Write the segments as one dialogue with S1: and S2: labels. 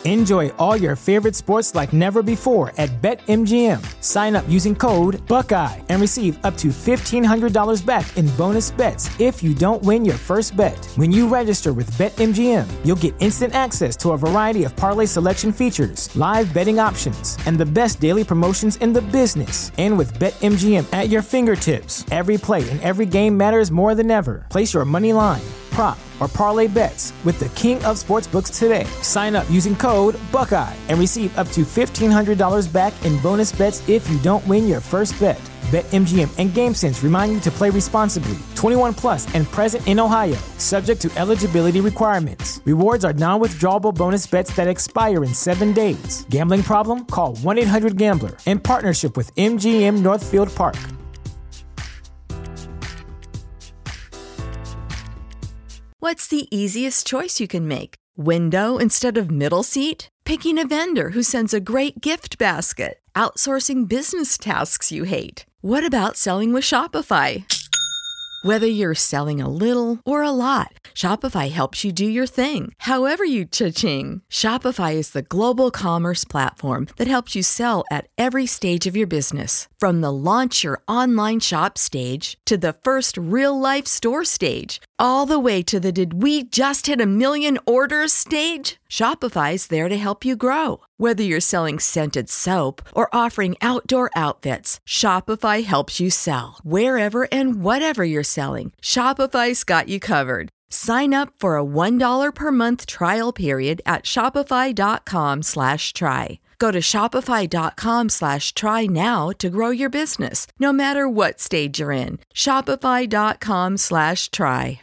S1: Enjoy all your favorite sports like never before at BetMGM. Sign up using code Buckeye and receive up to $1,500 back in bonus bets if you don't win your first bet. When you register with BetMGM, you'll get instant access to a variety of parlay selection features, live betting options, and the best daily promotions in the business. And with BetMGM at your fingertips, every play and every game matters more than ever. Place your money line, prop, or parlay bets with the king of sportsbooks today. Sign up using code Buckeye and receive up to $1,500 back in bonus bets if you don't win your first bet. BetMGM and GameSense remind you to play responsibly. 21 plus and present in Ohio, subject to eligibility requirements. Rewards are non-withdrawable bonus bets that expire in 7 days. Gambling problem? Call 1-800-GAMBLER. In partnership with MGM Northfield Park.
S2: What's the easiest choice you can make? Window instead of middle seat? Picking a vendor who sends a great gift basket? Outsourcing business tasks you hate? What about selling with Shopify? Whether you're selling a little or a lot, Shopify helps you do your thing, however you cha-ching. Shopify is the global commerce platform that helps you sell at every stage of your business. From the launch your online shop stage to the first real-life store stage, all the way to the did we just hit 1 million orders stage. Shopify's there to help you grow. Whether you're selling scented soap or offering outdoor outfits, Shopify helps you sell. Wherever and whatever you're selling, Shopify's got you covered. Sign up for a $1 per month trial period at shopify.com/try. Go to shopify.com/try now to grow your business, no matter what stage you're in. Shopify.com/try.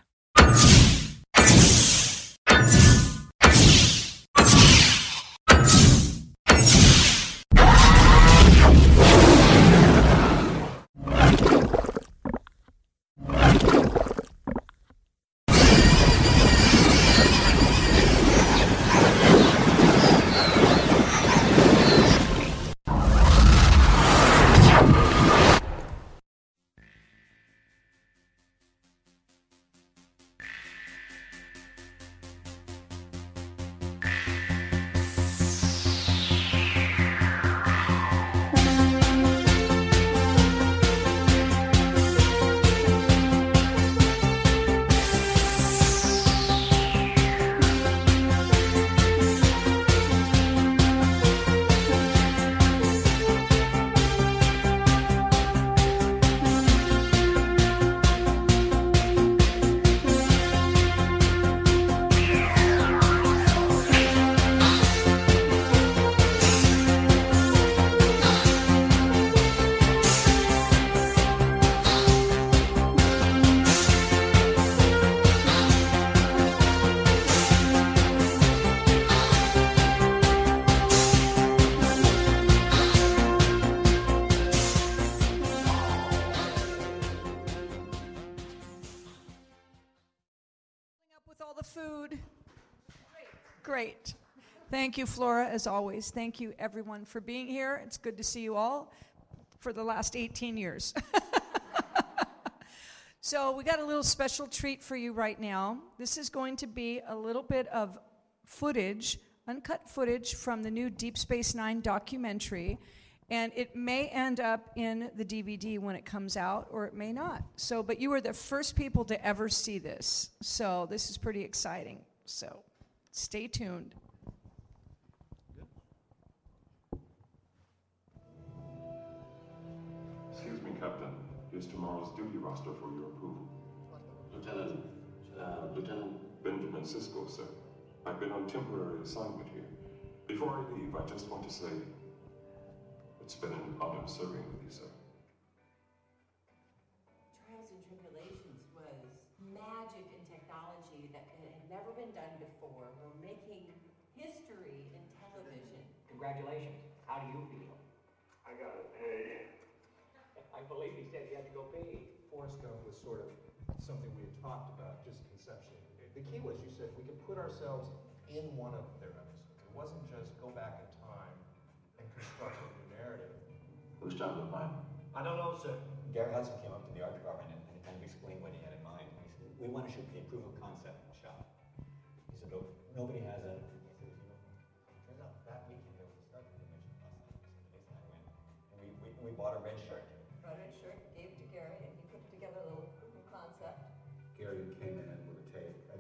S3: Great. Thank you, Flora, as always. Thank you, everyone, for being here. It's good to see you all for the last 18 years. So we got a little special treat for you right now. This is going to be a little bit of footage, uncut footage from the new Deep Space Nine documentary, and it may end up in the DVD when it comes out, or it may not. So, but you were the first people to ever see this, so this is pretty exciting. So, stay tuned.
S4: Excuse me, Captain. Here's tomorrow's duty roster for your approval.
S5: Lieutenant
S4: Benjamin Sisko, sir. I've been on temporary assignment here. Before I leave, I just want to say it's been an honor serving with you, sir.
S6: Trials and Tribulations was magic and technology that had never been done before. We're making history in television.
S5: Congratulations. How do you feel?
S4: I got an A.
S5: I believe he said he had to go pee.
S7: Forrest Gump was sort of something we had talked about just conceptually. The key was, you said, we could put ourselves in one of their episodes. It wasn't just go back in time and construct a new narrative.
S4: Whose job was mine?
S7: I don't know, sir.
S8: Gary Hudson came up to the art department and kind of explained what he had in mind. He said, we want to shoot the proof of concept shot. He said, oh, nobody has a...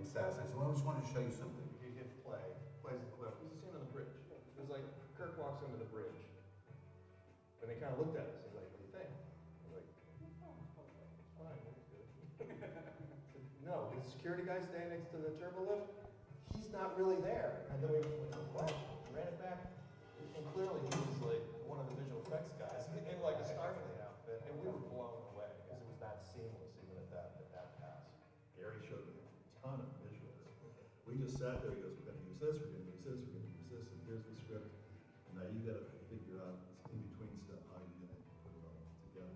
S9: success. I said, well, I just wanted to show you something.
S7: You hit play, plays the clip. There's a scene on the bridge. It was like Kirk walks into the bridge, and they kind of looked at us. He's like, "What do you think?" We're like, "Oh, it's fine, it's good." No, the security guy standing next to the turbo lift, he's not really there. And then we went, "What?" Ran it back, and clearly he was like one of the visual effects guys in like a Starfleet outfit, and we were blown away because it was that seamless even at that pass.
S10: Gary showed me a ton of visuals. We just sat there, he goes, we're going to use this, we're going to use this, we're going to use this, and here's the script. And now you got to figure out this in-between stuff, how you're going to put it all together.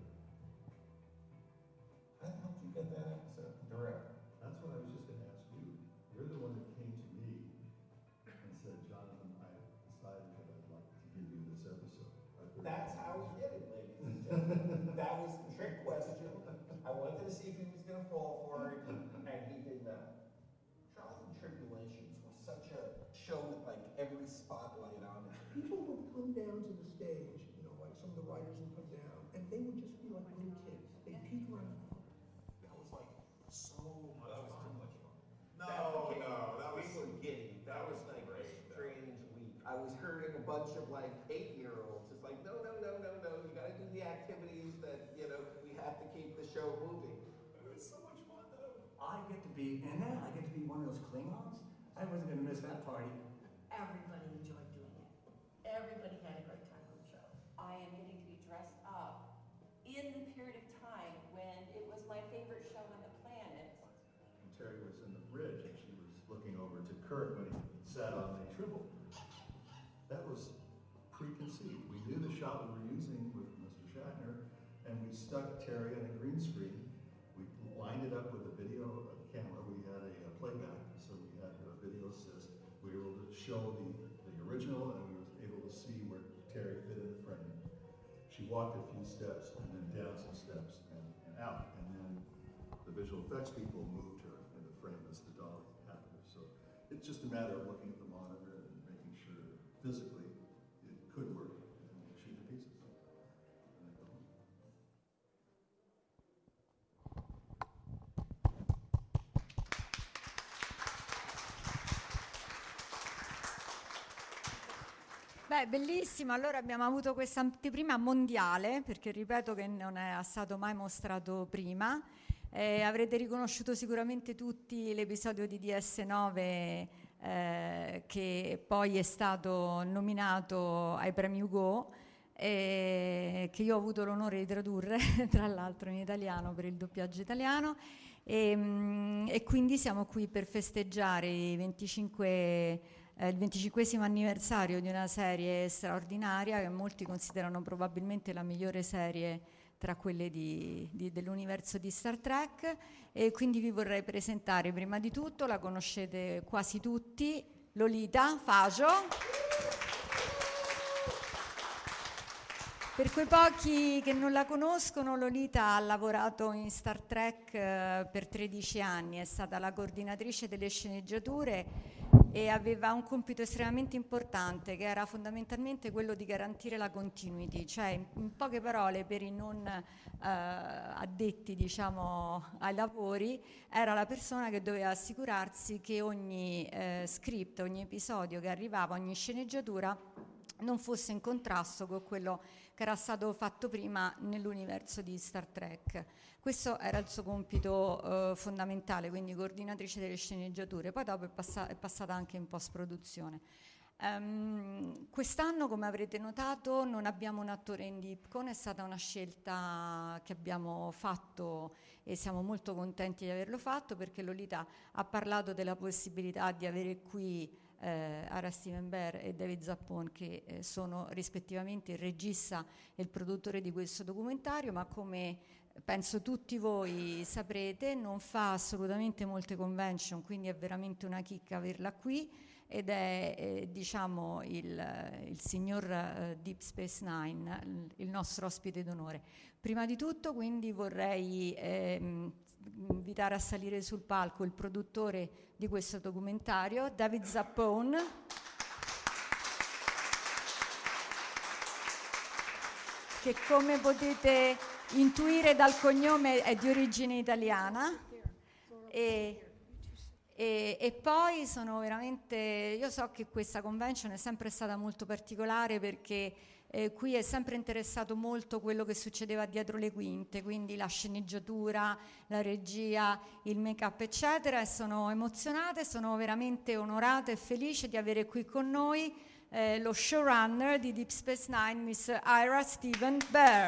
S9: How did you get that episode? Direct.
S10: That's what I was just going to ask you. You're the one that came to me and said, Jonathan, I decided that I'd like to give you this episode.
S9: That's how we did it, ladies and gentlemen. That was the trick question. I wanted to see if he was going to fall for it, and he did not. Trials and Tribulations was such a show with like every spotlight on it. People would come down to the stage, you know, like some of the writers would come down, and they would just be like little kids. They'd peek around. That was like so much fun. That was too much fun. That was so giddy. That was like a strange week. I was herding a bunch of like 8-year-olds. It's like, no. You got to do the activities that, you know, we have to keep the show moving. It was so much fun though.
S11: I get to be one of those Klingons. I wasn't going to miss that party.
S6: Everybody enjoyed doing it. Everybody had a great time on the show. I am getting to be dressed up in the period of time when it was my favorite show on the planet.
S10: And Terry was in the bridge, and she was looking over to Kurt when he sat on the Tribble. That was preconceived. We knew the shot we were using with Mr. Shatner, and we stuck Terry on a green screen. We lined it up with a video camera. We had a playback, so we had a video assist. We were able to show the original, and we were able to see where Terry fit in the frame. She walked a few steps, and then down some steps, and out. And then the visual effects people moved her in the frame as the dolly happened. So it's just a matter of looking at the monitor and making sure physically it could work, and shoot the pieces. And then go home.
S12: Beh, bellissimo. Allora abbiamo avuto questa anteprima mondiale, perché ripeto che non è stato mai mostrato prima. Avrete riconosciuto sicuramente tutti l'episodio di DS9 che poi è stato nominato ai premi Hugo, che io ho avuto l'onore di tradurre tra l'altro in italiano per il doppiaggio italiano, e quindi siamo qui per festeggiare il 25esimo anniversario di una serie straordinaria che molti considerano probabilmente la migliore serie tra quelle dell'universo di Star Trek, e quindi vi vorrei presentare prima di tutto, la conoscete quasi tutti, Lolita Fajo. Per quei pochi che non la conoscono, Lolita ha lavorato in Star Trek per 13 anni, è stata la coordinatrice delle sceneggiature e aveva un compito estremamente importante, che era fondamentalmente quello di garantire la continuity, cioè in poche parole, per i non addetti, diciamo, ai lavori, era la persona che doveva assicurarsi che ogni script, ogni episodio che arrivava, ogni sceneggiatura non fosse in contrasto con quello che era stato fatto prima nell'universo di Star Trek. Questo era il suo compito fondamentale, quindi coordinatrice delle sceneggiature. Poi dopo è passata anche in post-produzione. Quest'anno, come avrete notato, non abbiamo un attore in Dipcon, è stata una scelta che abbiamo fatto e siamo molto contenti di averlo fatto, perché Lolita ha parlato della possibilità di avere qui Ara Steven Behr e David Zappone, che sono rispettivamente il regista e il produttore di questo documentario, ma come penso tutti voi saprete non fa assolutamente molte convention, quindi è veramente una chicca averla qui, ed è diciamo il signor Deep Space Nine, il nostro ospite d'onore. Prima di tutto quindi vorrei invitare a salire sul palco il produttore di questo documentario, David Zappone, che come potete intuire dal cognome è di origine italiana, E poi sono veramente, io so che questa convention è sempre stata molto particolare perché qui è sempre interessato molto quello che succedeva dietro le quinte, quindi la sceneggiatura, la regia, il make-up eccetera, e sono emozionate, sono veramente onorata e felice di avere qui con noi lo showrunner di Deep Space Nine, Miss Ira Steven Behr.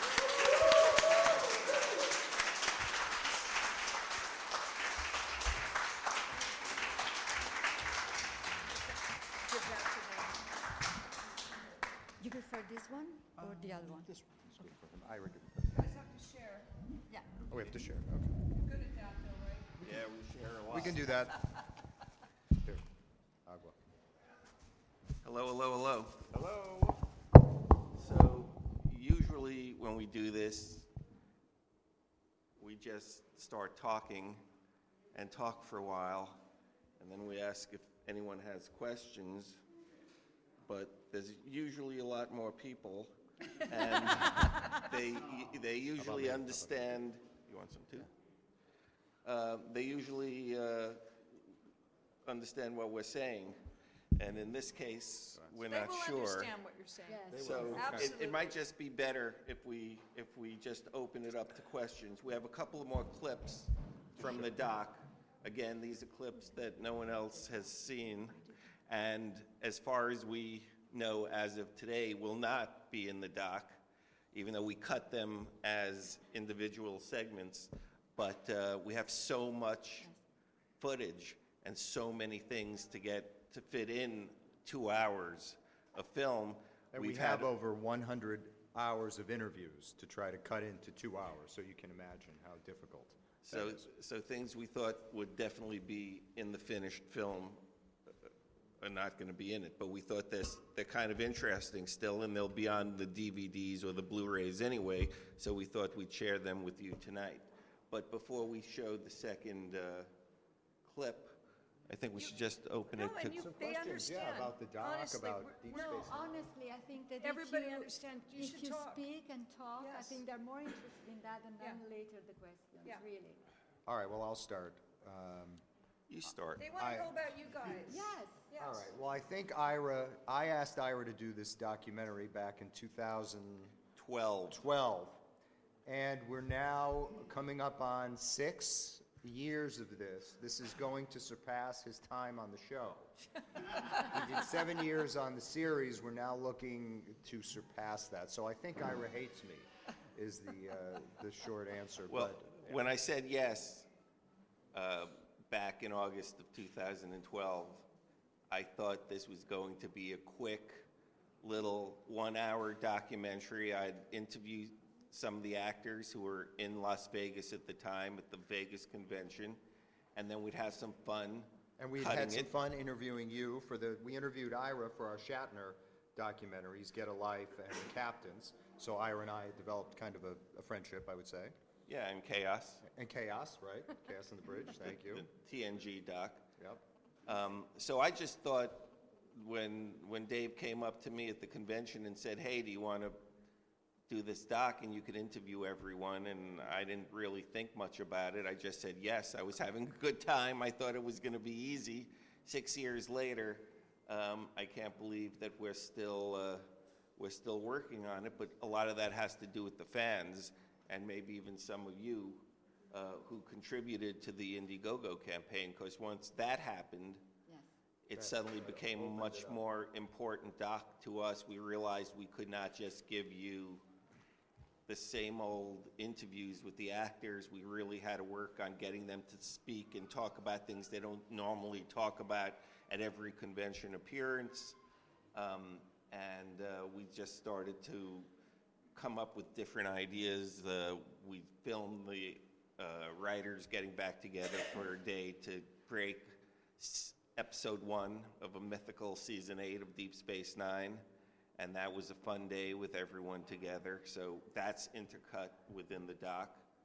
S12: You prefer this one or the other one?
S7: This one. Ira,
S3: You guys have to share.
S12: Yeah.
S7: oh, we have to share, okay.
S3: Good at that, though, right?
S8: Yeah, we share a lot.
S7: We can do that. Here, agua.
S13: Hello, hello, hello.
S7: Hello.
S13: So usually when we do this, we just start talking and talk for a while, and then we ask if anyone has questions, but there's usually a lot more people, and they usually understand. You want some too? They usually understand what we're saying, and in this case, we're
S3: They
S13: not
S3: will
S13: sure.
S3: understand what you're saying.
S12: Yes.
S13: So
S3: Absolutely.
S13: it might just be better if we just open it up to questions. We have a couple of more clips from the doc. Again, these are clips that no one else has seen, and as far as we know as of today, will not be in the doc, even though we cut them as individual segments. But we have so much footage and so many things to fit in 2 hours of film.
S7: And we have over 100 hours of interviews to try to cut into 2 hours, so you can imagine how difficult that is.
S13: So things we thought would definitely be in the finished film are not going to be in it, but we thought they're kind of interesting still, and they'll be on the DVDs or the Blu-rays anyway, so we thought we'd share them with you tonight. But before we show the second clip, I think we should just open it to...
S7: Some
S3: They
S7: questions, yeah,
S3: understand.
S7: about the doc,
S3: Honestly,
S7: about
S3: we're-
S7: Deep
S12: No,
S7: Space Nine.
S12: honestly, I think that
S3: Everybody
S12: if you,
S3: understands. You
S12: if
S3: should
S12: you
S3: talk.
S12: speak and talk, I
S3: Yes.
S12: think they're more interested in that, and then
S3: Yeah.
S12: later the questions,
S3: Yeah.
S12: really.
S7: All right, well, I'll start.
S13: You start.
S3: They want to know about you guys.
S12: Yes.
S3: Yes.
S7: All right, well, I asked Ira to do this documentary back in 2012. And we're now coming up on 6 years of this. This is going to surpass his time on the show. He did 7 years on the series. We're now looking to surpass that. So I think Ira hates me, is the short answer.
S13: Well,
S7: but,
S13: when I said yes back in August of 2012, I thought this was going to be a quick little 1-hour documentary. I'd interview some of the actors who were in Las Vegas at the time at the Vegas convention, and then we'd have some fun.
S7: And we had some fun interviewing you we interviewed Ira for our Shatner documentaries, Get a Life and The Captains. So Ira and I developed kind of a friendship, I would say.
S13: Yeah, and Chaos.
S7: And Chaos, right? Chaos on the Bridge, thank you.
S13: The TNG doc.
S7: Yep.
S13: So I just thought when Dave came up to me at the convention and said, hey, do you want to do this doc and you could interview everyone, and I didn't really think much about it. I just said yes. I was having a good time. I thought it was going to be easy. 6 years later, I can't believe that we're still working on it, but a lot of that has to do with the fans and maybe even some of you who contributed to the Indiegogo campaign, because once that happened, it suddenly became a much more important doc to us. We realized we could not just give you the same old interviews with the actors. We really had to work on getting them to speak and talk about things they don't normally talk about at every convention appearance. And we just started to come up with different ideas. We filmed the writers getting back together for a day to create episode 1 of a mythical season 8 of Deep Space Nine, and that was a fun day with everyone together. So that's intercut within the doc,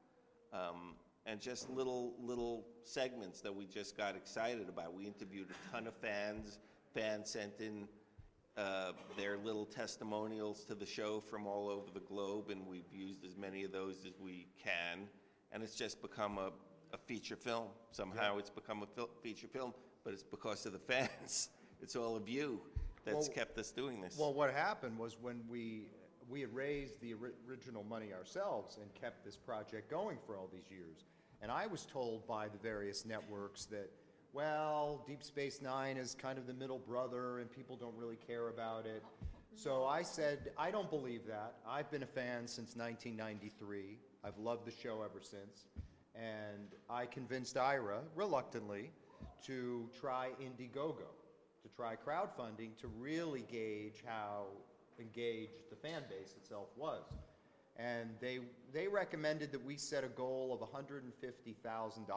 S13: and just little segments that we just got excited about. We interviewed a ton of fans. Fans sent in their little testimonials to the show from all over the globe, and we've used as many of those as we can. And it's just become a feature film. Somehow it's become a feature film, but it's because of the fans. It's all of you that's kept us doing this.
S7: Well, what happened was when we had raised the original money ourselves and kept this project going for all these years. And I was told by the various networks that, well, Deep Space Nine is kind of the middle brother and people don't really care about it. So I said, I don't believe that. I've been a fan since 1993. I've loved the show ever since. And I convinced Ira, reluctantly, to try Indiegogo, to try crowdfunding to really gauge how engaged the fan base itself was. And they recommended that we set a goal of $150,000,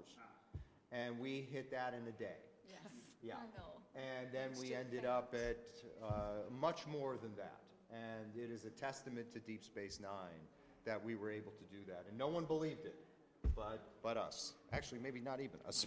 S7: and we hit that in a day.
S12: Yes.
S7: Yeah.
S12: I know.
S7: And then we ended up at much more than that. And it is a testament to Deep Space Nine that we were able to do that. And no one believed it, but us. Actually, maybe not even us.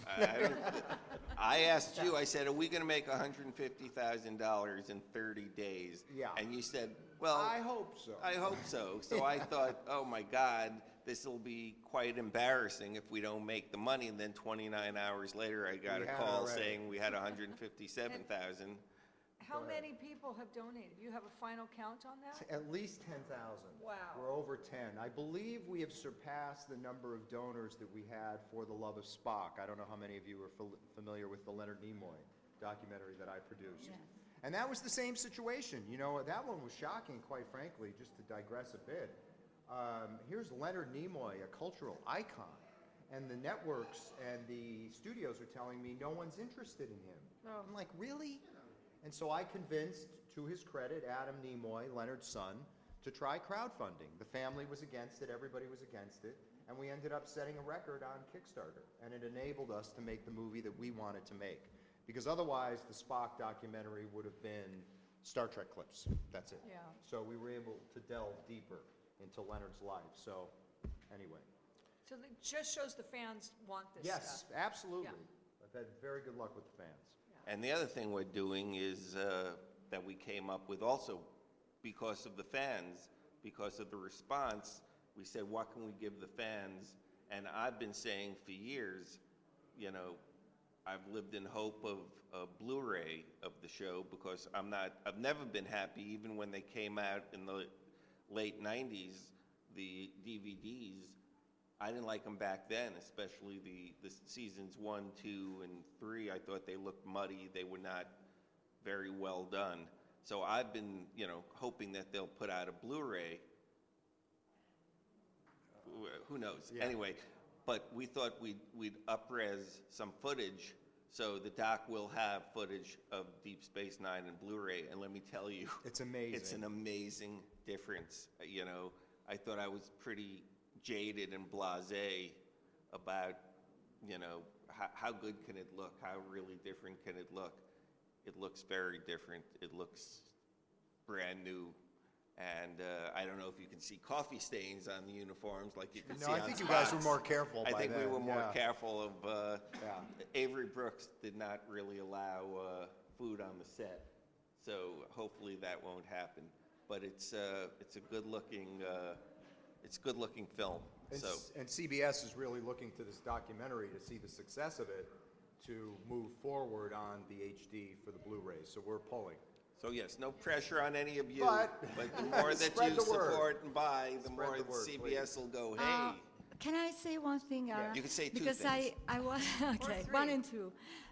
S13: I asked you, I said, are we going to make $150,000 in 30 days?
S7: Yeah.
S13: And you said, well,
S7: I hope so.
S13: I hope so. So I thought, oh my God, this will be quite embarrassing if we don't make the money. And then 29 hours later, I got a call saying we had $157,000.
S3: How many people have donated? You have a final count on that?
S7: At least 10,000.
S3: Wow.
S7: We're over 10. I believe we have surpassed the number of donors that we had for The Love of Spock. I don't know how many of you are familiar with the Leonard Nimoy documentary that I produced.
S12: Yes.
S7: And that was the same situation. You know, that one was shocking, quite frankly, just to digress a bit. Here's Leonard Nimoy, a cultural icon, and the networks and the studios are telling me no one's interested in him.
S3: Oh.
S7: I'm like, really? And so I convinced, to his credit, Adam Nimoy, Leonard's son, to try crowdfunding. The family was against it, everybody was against it, and we ended up setting a record on Kickstarter, and it enabled us to make the movie that we wanted to make. Because otherwise, the Spock documentary would have been Star Trek clips. That's it.
S3: Yeah.
S7: So we were able to delve deeper into Leonard's life. So, anyway.
S3: So it just shows the fans want this
S7: Yes,
S3: stuff.
S7: absolutely.
S3: Yeah.
S7: I've had very good luck with the fans.
S13: And the other thing we're doing is that we came up with also because of the fans, because of the response, we said, what can we give the fans? And I've been saying for years, you know, I've lived in hope of a Blu-ray of the show because I've never been happy, even when they came out in the late 90s, the DVDs, I didn't like them back then, especially the seasons 1, 2, and 3. I thought they looked muddy. They were not very well done. So I've been, you know, hoping that they'll put out a Blu-ray. Who knows?
S7: Yeah.
S13: Anyway, but we thought we'd up-res some footage, so the doc will have footage of Deep Space Nine and Blu-ray. And let me tell you,
S7: it's amazing.
S13: It's an amazing difference. You know, I thought I was pretty jaded and blasé about, you know, how good can it look? How really different can it look? It looks very different. It looks brand new. And I don't know if you can see coffee stains on the uniforms like you can see on
S7: No, I think you guys were
S13: Spock's.
S7: more careful by
S13: I think we
S7: then,
S13: were more
S7: yeah.
S13: careful of, Avery Brooks did not really allow food on the set. So hopefully that won't happen. But it's a good-looking film.
S7: And CBS is really looking to this documentary to see the success of it to move forward on the HD for the Blu-ray. So we're pulling.
S13: So yes, no pressure on any of you.
S7: But
S13: the more that
S7: spread
S13: you
S7: the word.
S13: support and buy, the
S7: Spread
S13: more
S7: the word,
S13: CBS will go, hey.
S12: Can I say one thing, Ara?
S13: You can say two
S12: because
S13: things.
S12: I was okay.
S3: three.
S12: 1 and 2.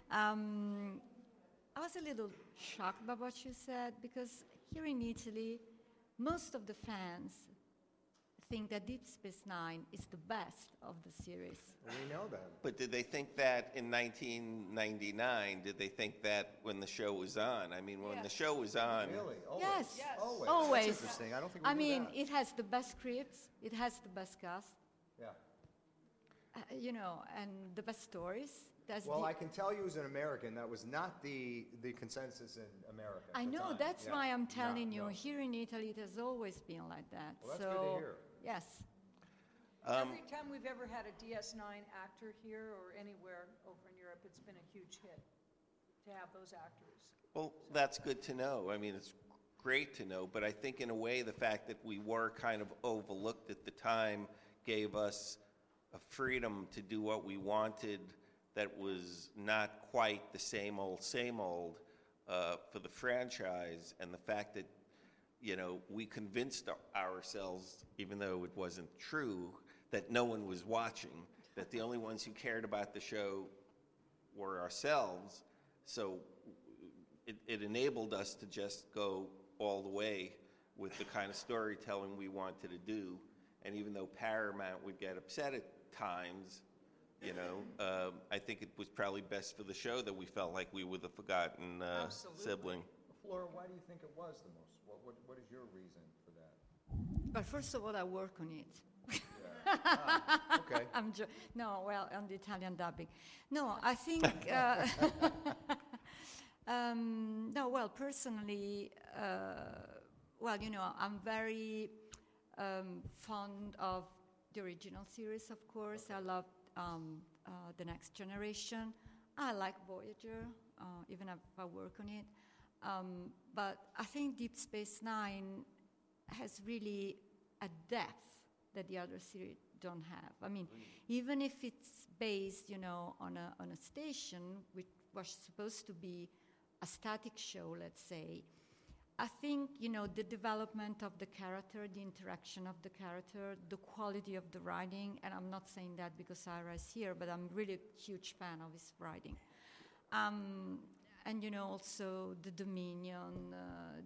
S12: I was a little shocked by what you said because here in Italy, most of the fans think that Deep Space Nine is the best of the series.
S7: We know that.
S13: But did they think that in 1999? Did they think that when the show was on? I mean, when the show was on.
S7: Really? Always.
S12: Yes,
S7: Always.
S12: always.
S7: That's interesting. I don't think we
S12: I
S7: knew
S12: mean,
S7: that.
S12: it has the best scripts, it has the best cast,
S7: Yeah.
S12: you know, and the best stories. That's
S7: Well,
S12: the,
S7: I can tell you as an American, that was not the consensus in America. at
S12: I
S7: the
S12: know,
S7: time.
S12: that's
S7: Yeah.
S12: why I'm
S7: No,
S12: telling you,
S7: no.
S12: here in Italy, it has always been like that.
S7: Well, that's
S12: so,
S7: good to hear.
S12: Yes.
S3: Every time we've ever had a DS9 actor here or anywhere over in Europe, it's been a huge hit to have those actors.
S13: Well, that's good to know. I mean, it's great to know. But I think in a way, the fact that we were kind of overlooked at the time gave us a freedom to do what we wanted that was not quite the same old for the franchise, and the fact that, you know, we convinced ourselves, even though it wasn't true, that no one was watching, that the only ones who cared about the show were ourselves. So it enabled us to just go all the way with the kind of storytelling we wanted to do. And even though Paramount would get upset at times, you know, I think it was probably best for the show that we felt like we were the forgotten sibling.
S7: Flora, why do you think it was the most? What is your reason for that?
S12: But first of all, I work on it.
S7: Okay.
S12: On the Italian dubbing. No, I think, personally, you know, I'm very fond of the original series, of course. I love The Next Generation. I like Voyager, even if I work on it. But I think Deep Space Nine has really a depth that the other series don't have. I mean, even if it's based, you know, on a station which was supposed to be a static show, let's say, I think, you know, the development of the character, the interaction of the character, the quality of the writing, and I'm not saying that because Ira is here, but I'm really a huge fan of his writing. And, you know, also the Dominion,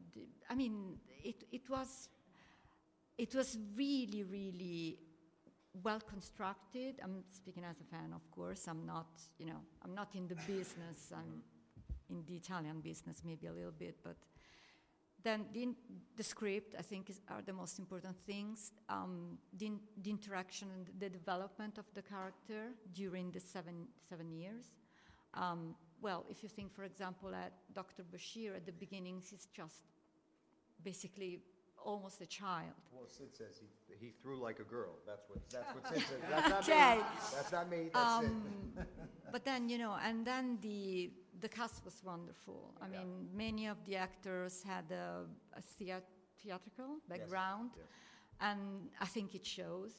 S12: it was really, really well constructed. I'm speaking as a fan, of course. I'm not in the business. I'm in the Italian business, maybe a little bit, but then the script, I think, are the most important things. The interaction and the development of the character during the seven years. If you think, for example, at Dr. Bashir, at the beginning, he's just basically almost a child.
S7: Well, Sid says he threw like a girl. That's what Sid says. That's not
S12: okay.
S7: me. That's not me. That's it.
S12: But then, you know, and then the cast was wonderful. I mean, many of the actors had a theatrical background,
S7: yes.
S12: and I think it shows.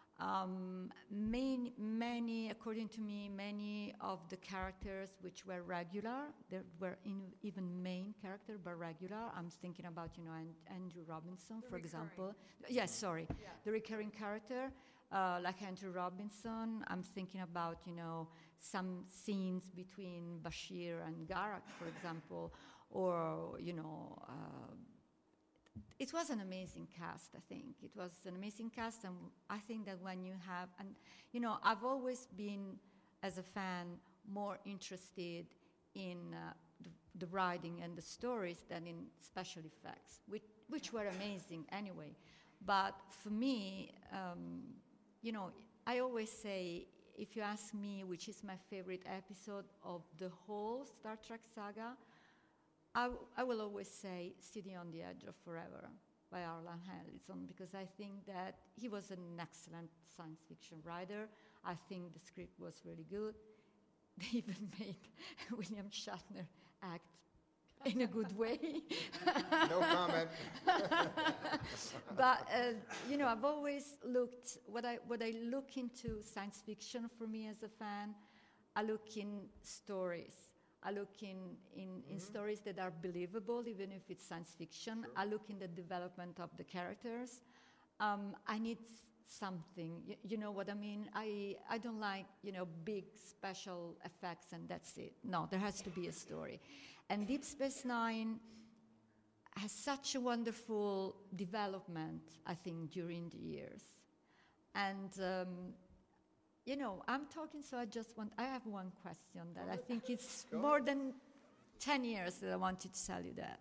S12: Many, according to me, many of the characters which were regular, there were even main character, but regular. I'm thinking about, you know, Andrew Robinson, for example. Yes, sorry. Yeah. The recurring character, like Andrew Robinson. I'm thinking about, you know, some scenes between Bashir and Garak, for example, or, you know, it was an amazing cast, I think. It was an amazing cast, and I think that when you have, and you know, I've always been, as a fan, more interested in the writing and the stories than in special effects, which were amazing anyway. But for me, you know, I always say, if you ask me which is my favorite episode of the whole Star Trek saga, I will always say City on the Edge of Forever by Arlan Ellison, because I think that he was an excellent science fiction writer. I think the script was really good. They even made William Shatner act in a good way.
S7: No comment.
S12: But you know, I've always looked, what I look into science fiction for me as a fan, I look in stories. I look in stories that are believable, even if it's science fiction. Sure. I look in the development of the characters. I need something, you know what I mean? I don't like, you know, big special effects and that's it. No, there has to be a story. And Deep Space Nine has such a wonderful development, I think, during the years. And you know, I'm talking, so I have one question that I think it's more than 10 years that I wanted to tell you that.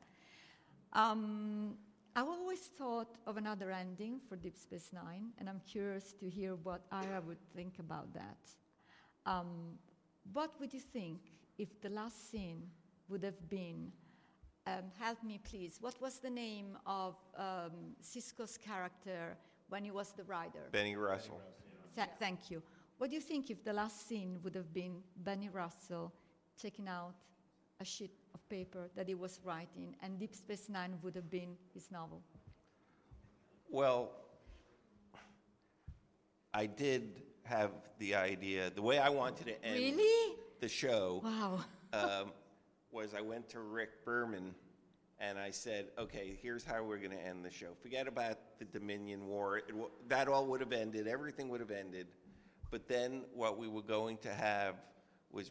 S12: I've always thought of another ending for Deep Space Nine, and I'm curious to hear what Ira would think about that. What would you think if the last scene would have been, help me please, what was the name of Sisko's character when he was the rider?
S13: Benny Russell.
S12: Thank you. What do you think if the last scene would have been Benny Russell taking out a sheet of paper that he was writing, and Deep Space Nine would have been his novel?
S13: Well, I did have the idea, the way I wanted to end
S12: Really?
S13: the show
S12: Wow.
S13: was I went to Rick Berman and I said, okay, here's how we're going to end the show. Forget about the Dominion War. That all would have ended. Everything would have ended. But then what we were going to have was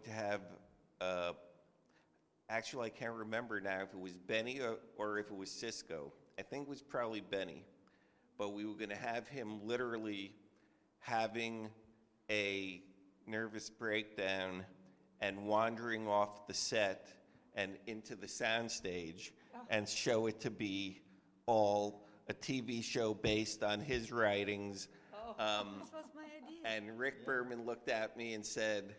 S13: actually, I can't remember now if it was Benny or if it was Cisco. I think it was probably Benny. But we were going to have him literally having a nervous breakdown and wandering off the set and into the soundstage and show it to be all a TV show based on his writings.
S12: This was my idea.
S13: And Rick Berman looked at me and said,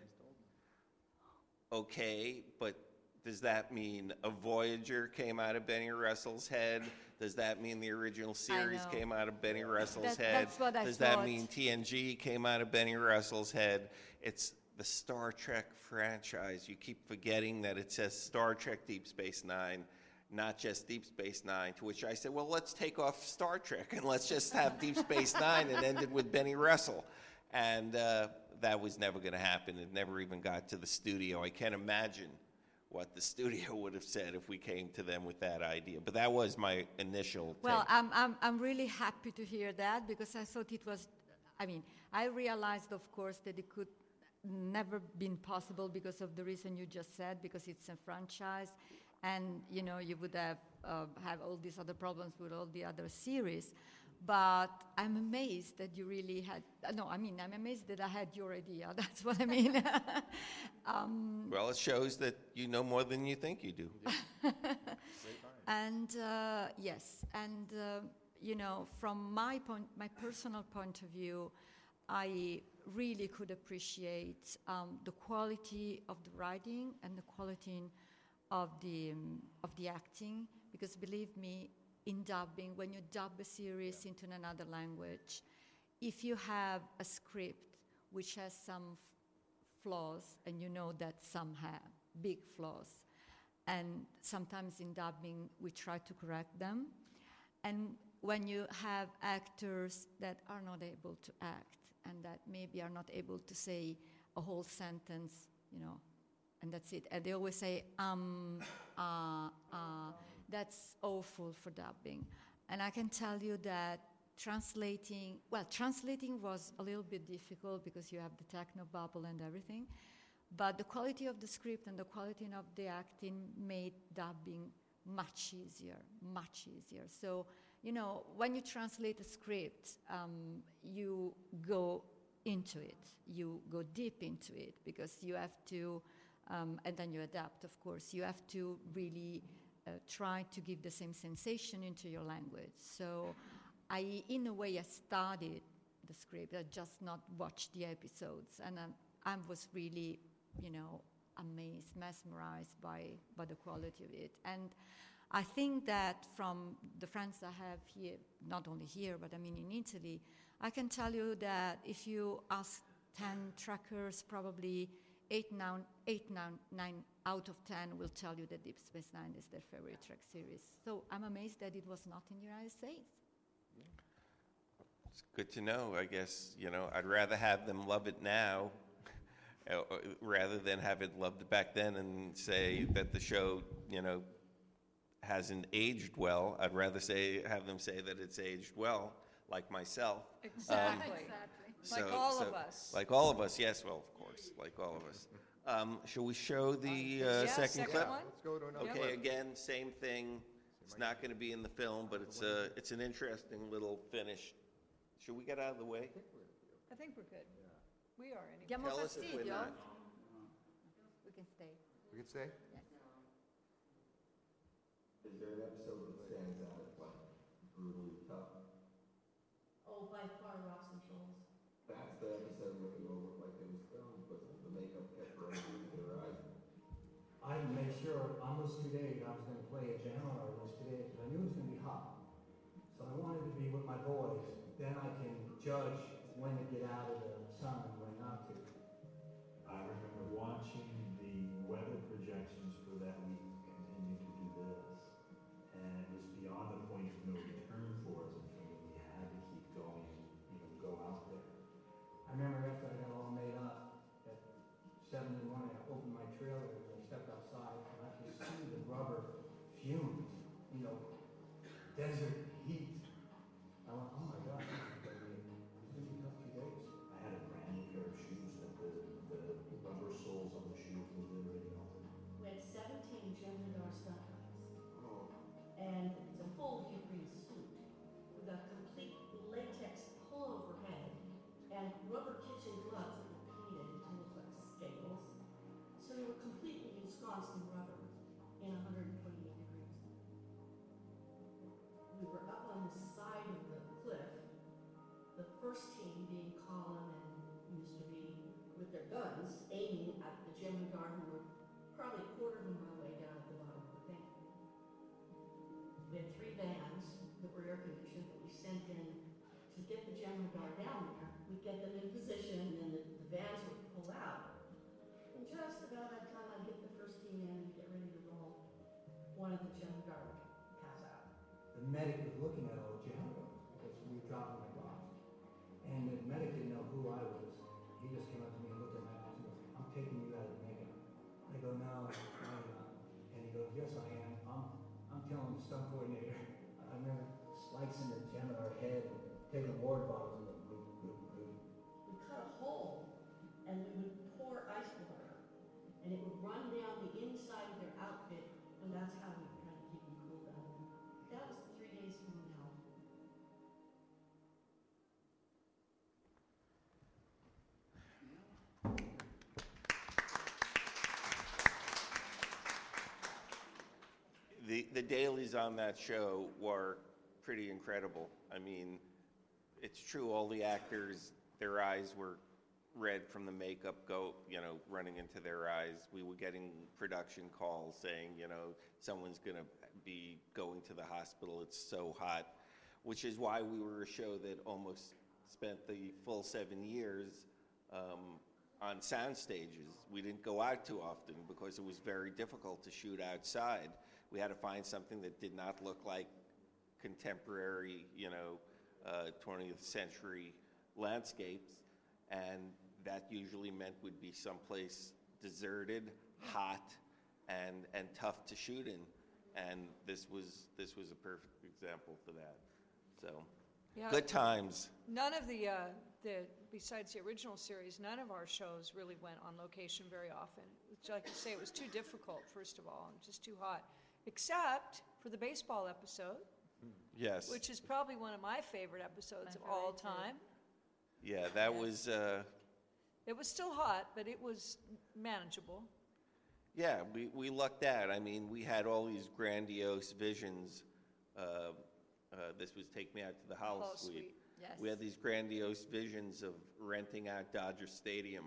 S13: okay, but does that mean a Voyager came out of Benny Russell's head? Does that mean the original series came out of Benny Russell's head?
S12: That's what I
S13: Does
S12: thought.
S13: that mean TNG came out of Benny Russell's head? It's the Star Trek franchise. You keep forgetting that it says Star Trek Deep Space Nine, not just Deep Space Nine, to which I said, well, let's take off Star Trek and let's just have Deep Space Nine and end it with Benny Russell. And that was never going to happen. It never even got to the studio. I can't imagine what the studio would have said if we came to them with that idea. But that was my initial
S12: Well,
S13: take.
S12: I'm really happy to hear that because I thought it was, I realized, of course, that it could never been possible because of the reason you just said, because it's a franchise, and, you would have all these other problems with all the other series. But I'm amazed that you really had, I'm amazed that I had your idea. That's what I mean.
S13: Well, it shows that you know more than you think you do.
S12: And yes, and from my personal point of view, I really could appreciate the quality of the writing and the quality of the acting, because believe me, in dubbing, when you dub a series into another language, if you have a script which has some flaws, and you know that some have big flaws, and sometimes in dubbing we try to correct them, and when you have actors that are not able to act and that maybe are not able to say a whole sentence, and that's it, and they always say that's awful for dubbing. And I can tell you that translating was a little bit difficult because you have the techno bubble and everything, but the quality of the script and the quality of the acting made dubbing much easier. So, when you translate a script, you go into it, you go deep into it, because you have to, and then you adapt, of course, you have to really try to give the same sensation into your language. So in a way, I studied the script. I just not watched the episodes. And I was really, amazed, mesmerized by the quality of it. And I think that from the friends I have here, not only here, but in Italy, I can tell you that if you ask 10 trackers, probably 8, 9 out of 10 will tell you that Deep Space Nine is their favorite Trek series. So I'm amazed that it was not in the United States.
S13: It's good to know, I guess. I'd rather have them love it now rather than have it loved back then and say that the show, hasn't aged well. I'd rather have them say that it's aged well, like myself.
S3: Exactly. Like all of us.
S13: Like all of us, yes, well, of course, like all of us. Shall we show the second clip?
S3: One.
S7: Let's go to another
S13: Okay,
S7: clip.
S13: again, same thing. It's not going to be in the film, but it's an interesting little finish. Should we get out of the way?
S3: I think we're good. We are anyway.
S12: Diamo
S13: Tell us if we're
S12: fastidio?
S13: not.
S12: We can stay.
S7: We could say?
S12: Yes.
S9: Is there an episode that stands out as like brutally tough?
S6: Oh, by far, Rocks and Shoals.
S9: That's the episode where they all look like they was filmed, but the makeup kept running into their eyes.
S11: I made sure on those 2 days I was going to play a channel on those 2 days because I knew it was going to be hot. So I wanted to be with my boys. Then I can judge when to get out of the sun and when not to.
S10: I remember watching the weather projections for that week to continue to do this. And it was beyond the point of no return for us. And we had to keep going, go out there.
S11: I remember desert heat. I went, oh my God, it's going to be a tough 2 days.
S10: I had a brand new pair of shoes that the rubber soles on the shoes were literally melted.
S6: We had 17 Gemini stunt guys. And it's a full deep-green suit with a complete latex pullover head and rubber kitchen gloves that were painted to look like scales. So they were completely ensconced in rubber in 128 degrees. We were up on the side of the cliff, the first team being Colin and Mr. B with their guns aiming at the Gemini who were probably a quarter of a mile way down at the bottom of the thing. We had 3 vans that were air conditioned that we sent in to get the Gemini down there. We'd get them in position and then the vans would pull out. And just about that time I'd get the first team in and get ready to roll, one of the Gemini would pass out.
S11: The medic was looking at all the janitors because we were dropping my box. And the medic didn't know who I was. He just came up to me and looked at my eyes and goes, I'm taking you out of the makeup. I go, no, I'm not. And he goes, yes, I am. I'm telling the stunt coordinator. I remember slicing the Gemini head and taking water bottles and going, goop.
S6: We cut a hole and we would pour ice water and it would run down the inside of their outfit and that's how we kind of keep them cool down there. That was 3 days from now.
S13: The dailies on that show were pretty incredible. I mean, it's true, all the actors, their eyes were red from the makeup running into their eyes. We were getting production calls saying, someone's going to be going to the hospital, it's so hot, which is why we were a show that almost spent the full 7 years on sound stages. We didn't go out too often because it was very difficult to shoot outside. We had to find something that did not look like contemporary, 20th century landscapes, and that usually meant would be someplace deserted, hot, and tough to shoot in. And this was a perfect example for that. So,
S3: Yeah.
S13: Good times.
S3: None of the besides the original series, none of our shows really went on location very often. Like I say, it was too difficult, first of all, and just too hot. Except for the baseball episode.
S13: Yes.
S3: Which is probably one of my favorite episodes of all time.
S13: Yeah, that was...
S3: It was still hot, but it was manageable.
S13: Yeah, we lucked out. I mean, we had all these grandiose visions. This was Take Me Out to the Hollow Suite.
S12: Yes.
S13: We had these grandiose visions of renting out Dodger Stadium.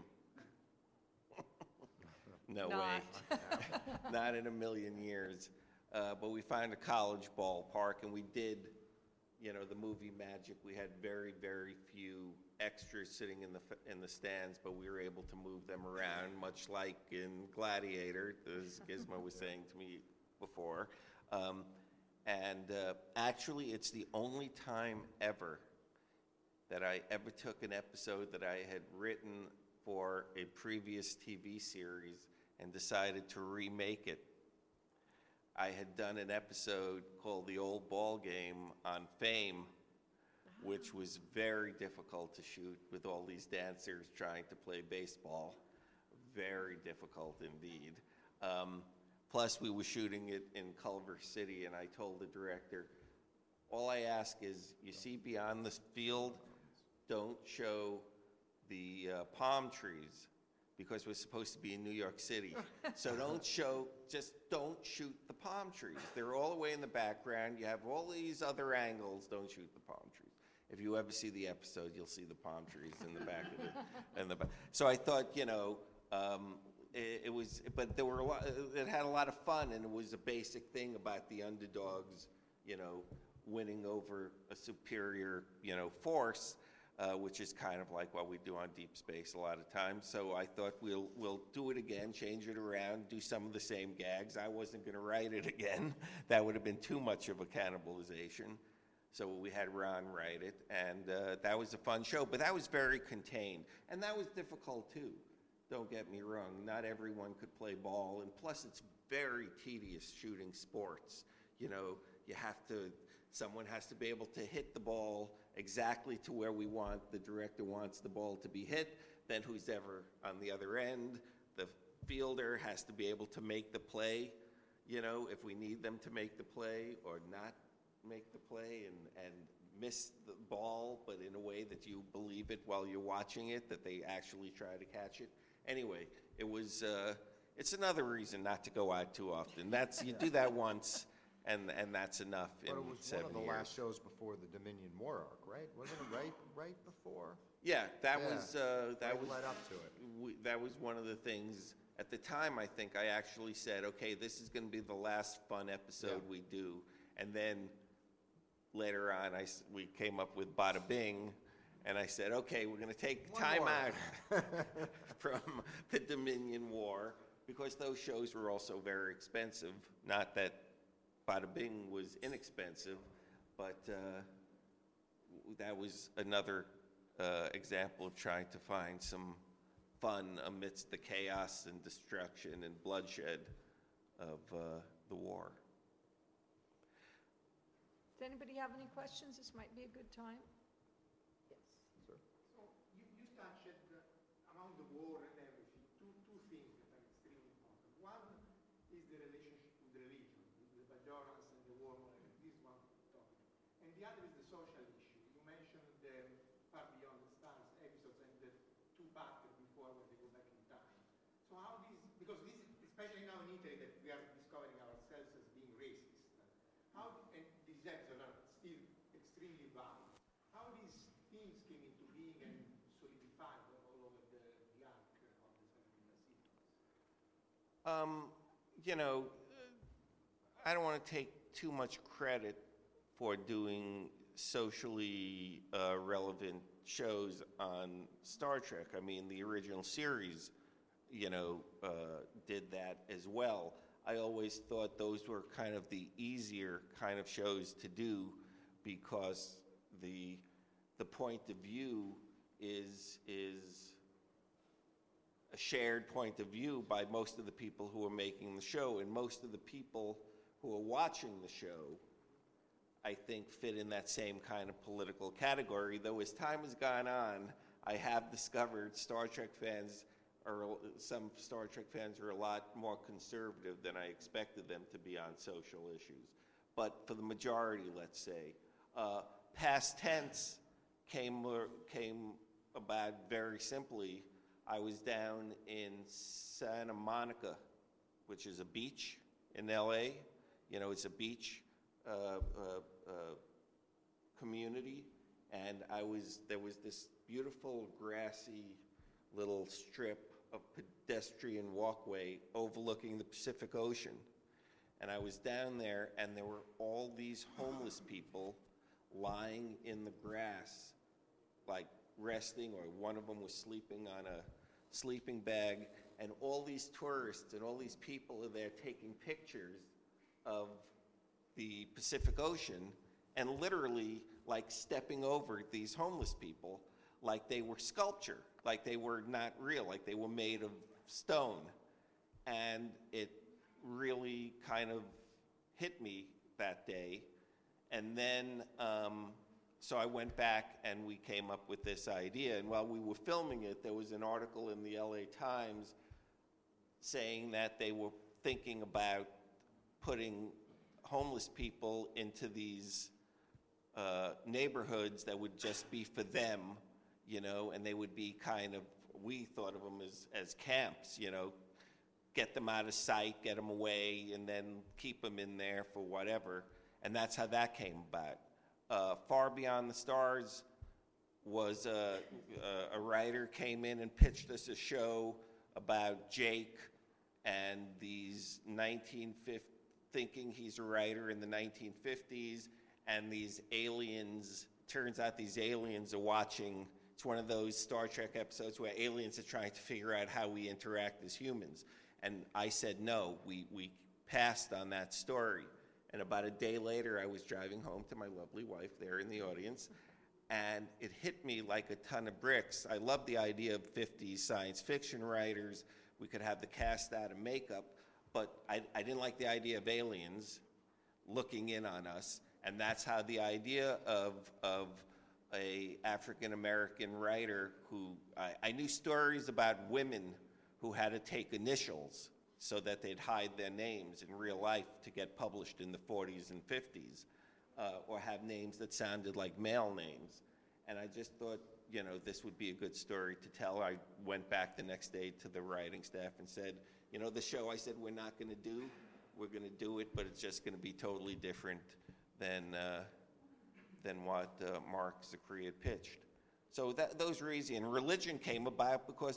S13: No way. Not in a million years. But we found a college ballpark, and we did, the movie magic. We had very, very few extras sitting in the stands, but we were able to move them around, much like in Gladiator, as Gizmo was saying to me before. Actually, it's the only time ever that I ever took an episode that I had written for a previous TV series and decided to remake it. I had done an episode called The Old Ball Game on Fame, which was very difficult to shoot with all these dancers trying to play baseball. Very difficult indeed. Plus, we were shooting it in Culver City, and I told the director, all I ask is, you see beyond this field, don't show the palm trees, because we're supposed to be in New York City. So just don't shoot the palm trees. They're all the way in the background. You have all these other angles, don't shoot the palm trees. If you ever see the episode, you'll see the palm trees in the back of it. So I thought, but there were it had a lot of fun, and it was a basic thing about the underdogs, winning over a superior, force. Which is kind of like what we do on Deep Space a lot of times. So I thought we'll do it again, change it around, do some of the same gags. I wasn't going to write it again. That would have been too much of a cannibalization. So we had Ron write it, and that was a fun show. But that was very contained, and that was difficult too. Don't get me wrong. Not everyone could play ball, and plus it's very tedious shooting sports. You have to Someone has to be able to hit the ball exactly to where the director wants the ball to be hit. Then who's ever on the other end, the fielder has to be able to make the play, if we need them to make the play or not make the play and miss the ball, but in a way that you believe it while you're watching it, that they actually try to catch it. Anyway, it's another reason not to go out too often. You do that once, and that's enough in 7 years.
S14: But it was one of the last shows before the Dominion War arc, right? Wasn't it right before?
S13: Yeah, that was
S14: led up to it.
S13: That was one of the things. At the time, I think I actually said, okay, this is going to be the last fun episode we do. And then later on, we came up with Bada Bing, and I said, okay, we're going to take time out from the Dominion War, because those shows were also very expensive. Not that Bada Bing was inexpensive, but that was another example of trying to find some fun amidst the chaos and destruction and bloodshed of the war.
S3: Does anybody have any questions? This might be a good time.
S9: Yes. Sir. So you touched around the war and everything, two things that are extremely important. One is the relationship with religion, the Bajorans and the war, this one topic. And the other is the social issue. You mentioned the Far Beyond the Stars episodes and the two-parter before when they go back in time. So how because this is, especially now in Italy that we are discovering ourselves as being racist, and these episodes are still extremely valid. How these themes came into being and solidified all over the arc of the 70 sequence?
S13: I don't want to take too much credit for doing socially relevant shows on Star Trek. I mean, the original series, did that as well. I always thought those were kind of the easier kind of shows to do, because the point of view is a shared point of view by most of the people who are making the show, and most of the people who are watching the show, I think, fit in that same kind of political category. Though as time has gone on, I have discovered some Star Trek fans are a lot more conservative than I expected them to be on social issues. But for the majority, let's say, past tense came about very simply. I was down in Santa Monica, which is a beach in LA. It's a beach community, and there was this beautiful grassy little strip of pedestrian walkway overlooking the Pacific Ocean. And I was down there, and there were all these homeless people lying in the grass, like resting, or one of them was sleeping on a sleeping bag, and all these tourists and all these people are there taking pictures of the Pacific Ocean, and literally like stepping over these homeless people like they were sculpture, like they were not real, like they were made of stone. And it really kind of hit me that day. And then, so I went back and we came up with this idea. And while we were filming it, there was an article in the LA Times saying that they were thinking about putting homeless people into these neighborhoods that would just be for them, and they would be kind of, we thought of them as camps, get them out of sight, get them away, and then keep them in there for whatever. And that's how that came about. Far Beyond the Stars was a writer came in and pitched us a show about Jake and these thinking he's a writer in the 1950s, and these aliens, turns out these aliens are watching, it's one of those Star Trek episodes where aliens are trying to figure out how we interact as humans. And I said no, we passed on that story. And about a day later, I was driving home to my lovely wife there in the audience, and it hit me like a ton of bricks. I love the idea of 50s science fiction writers. We could have the cast out of makeup, but I didn't like the idea of aliens looking in on us. And that's how the idea of a African-American writer who, I knew stories about women who had to take initials so that they'd hide their names in real life to get published in the 40s and 50s, or have names that sounded like male names. And I just thought, this would be a good story to tell. I went back the next day to the writing staff and said, the show I said we're not going to do, we're going to do it, but it's just going to be totally different than what Mark Zicree had pitched. So those were easy. And religion came about because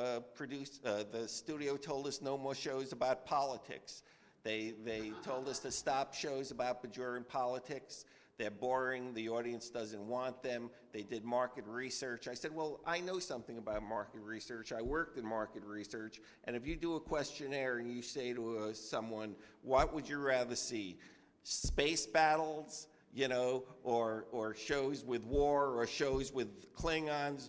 S13: the studio told us no more shows about politics. They told us to stop shows about Bajoran politics. They're boring. The audience doesn't want them. They did market research. I said, well, I know something about market research. I worked in market research. And if you do a questionnaire and you say to someone, what would you rather see? Space battles, or shows with war, or shows with Klingons,